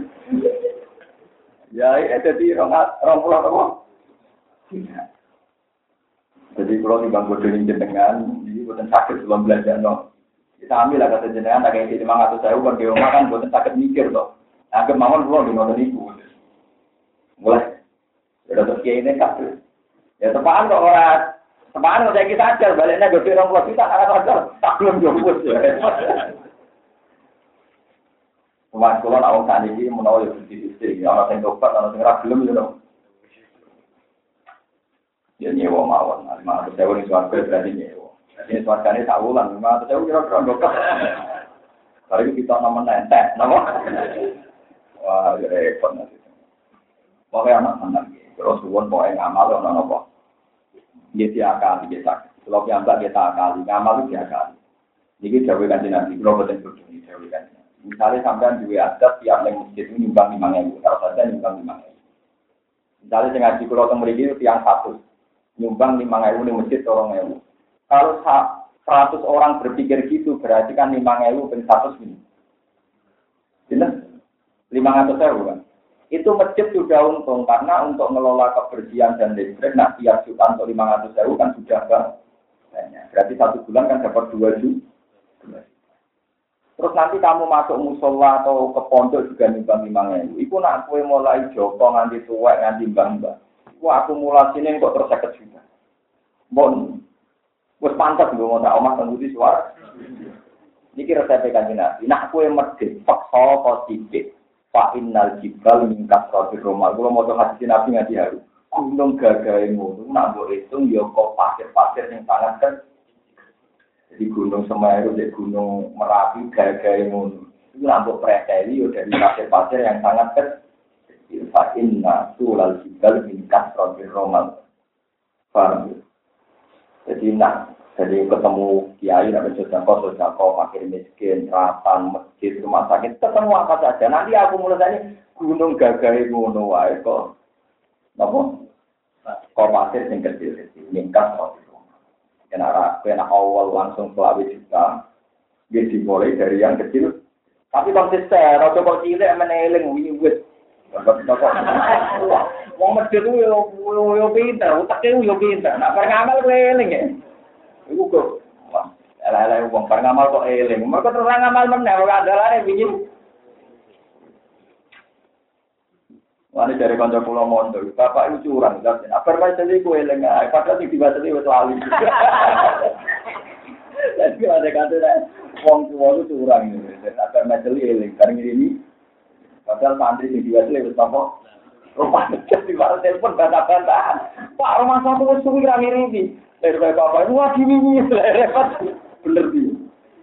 Ya, ini jadi orang pulau apa? Jadi kalau di bangku dunia jenengan, ini bukan sakit belum belajar no. Kita ambil lah kata jenengan, ada yang lima ratus saya uang di rumah kan bukan sakit mikir toh. Nah, kemauan belum di nonton ibu. Mulai, sudah terus ini kabel. Ya tepaan kok orang, tepaan kalau saya kita ajar baliknya gede orang pulau kita karena ajar tak belum jemput. Mas kula nak wong saniki menawa yo dadi ana sing tobat ana sing ora gelem yo. Ya nyewa mawon, lima ratus ribu ning swarga berarti nyewa. Jadi swargane sak wulan lima ratus ribu kira-kira ndok. Kali kita nomor entek, napa? Wah, ya repot nanti. Pokoke anak-anak iki, terus suwun pokoke ngamal ana napa? Nggih diakali nggih sak. Kalau piyambak kita akali, ngamal iki diakali. Niki dawuh Kanjeng Nabi, kula boten bodho iki dawuh Kanjeng. Misalnya sampean juga ada tiap yang masjid ini nyumbang lima ribu, kalau saja nyumbang lima ribu. Misalnya dengan di pulau Temeri itu tiang satu, nyumbang lima ribu di masjid tolong ribu. Kalau seratus orang berpikir gitu, berarti kan lima ribu per seratus ini. Benar? lima ratus ribu kan? Itu masjid sudah untung, karena untuk mengelola kebersihan dan listrik, nah tiap juta untuk lima ratus ribu kan sudah banyak. Berarti satu bulan kan dapat dua juta. Terus nanti kamu masuk musola atau ke pondok juga nimbang lima ribu. Iku nak kue mulai joko nganti tuwek nganti mbah-mbah. Iku akumulasinya kok terus seket juta. Bon, wes pantas lho mau tak omah tangguh di suara. Niki resep Kanjeng Nabi. Nak kue medhit peksa positif. Fa innal jibal min kasratir romal. Kulo maca hadis Nabi ngati haru. Gunung gagahe ngono nak mbok hitung ya kok pasir-pasir sing sangat kan. Di Gunung Semeru, di Gunung Merapi, gaya-gaya ngono. Itu nambah preteli dari pasir-pasir yang sangat kecil. Fa'inna sulal jibal minkas rohir romal. Paham? Jadi nak, jadi ketemu kiai, nak sodako, sodako, fakir miskin, ratan, masjid, rumah sakit, ketemu apa saja. Nanti aku mulai gunung gaya-gaya ngono wae kok. Napa? Kok pasir yang kecil-kecil, minkas rohir. Kena kena awal langsung selawi juga, dia dimulai dari yang kecil. Tapi konsisten, kalau kok cilik meneling wiwit. Wong medhit ku yo yo pinter, utake yo pinter. Nak ngamal ku eling ya. Iku kok ala-ala wong ngamal kok eling. Mergo terus ngamal meneh ora andalane wingi. Wani dari kanca kula mondo, bapak itu curang, tapi apa macam iku eling ae, padahal sing dibaseni wis lali. Tapi ada kata wong tuwa itu curang ini, apa macam eling, karena ini padahal santri sing dibaseni wis apa? Rupane di luar telepon bantah-bantahan. Pak, rumah satu wis suwi ra ngirimi. Dari bapak, wah gini repot. Bener iki.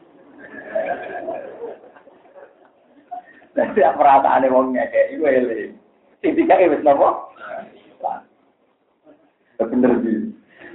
Tapi perasaane wong ngekek iku eling. Sing dikae wis napa? Bener iki.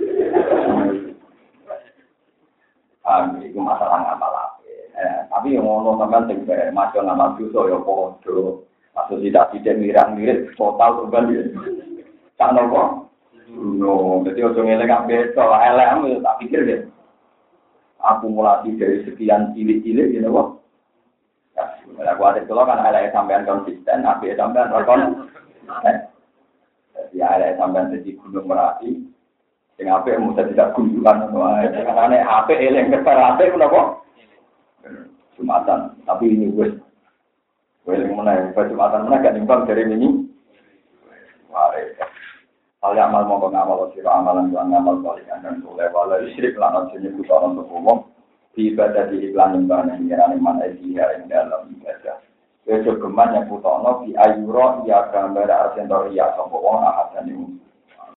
Ah, iku masalah ngamal ape. Eh, tapi yang ngono sampean sing masuk ngamal dosa ya padha. Masuk tidak-tidak mirang-mirip total kembali. Tak napa? No, dadi ojo ngelek kabeh to, elek tak pikir deh. Akumulasi dari sekian cilik-cilik ngene kok. Ya, aku ada kalau kan elek sampean konsisten, ape sampean rekon. Jadi ada sampean di Gunung Merapi, sing apik mesti tidak kunjungan wae. Karena apik eling keper apik menapa? Jumatan. Tapi ini wis eling meneh, Jumatan meneh gak nimbang dari ini. Mare. Hal yang amal mongko ngamal sira amalan lan ngamal saleh dan soleh wala syirik lan jenenge kutaran umum ibadah di iklan nyembah nang ngerane mana iki ing dalam ibadah. Wis geman yang putono di ayuro ya gambar asentor ya sapa wong ahadane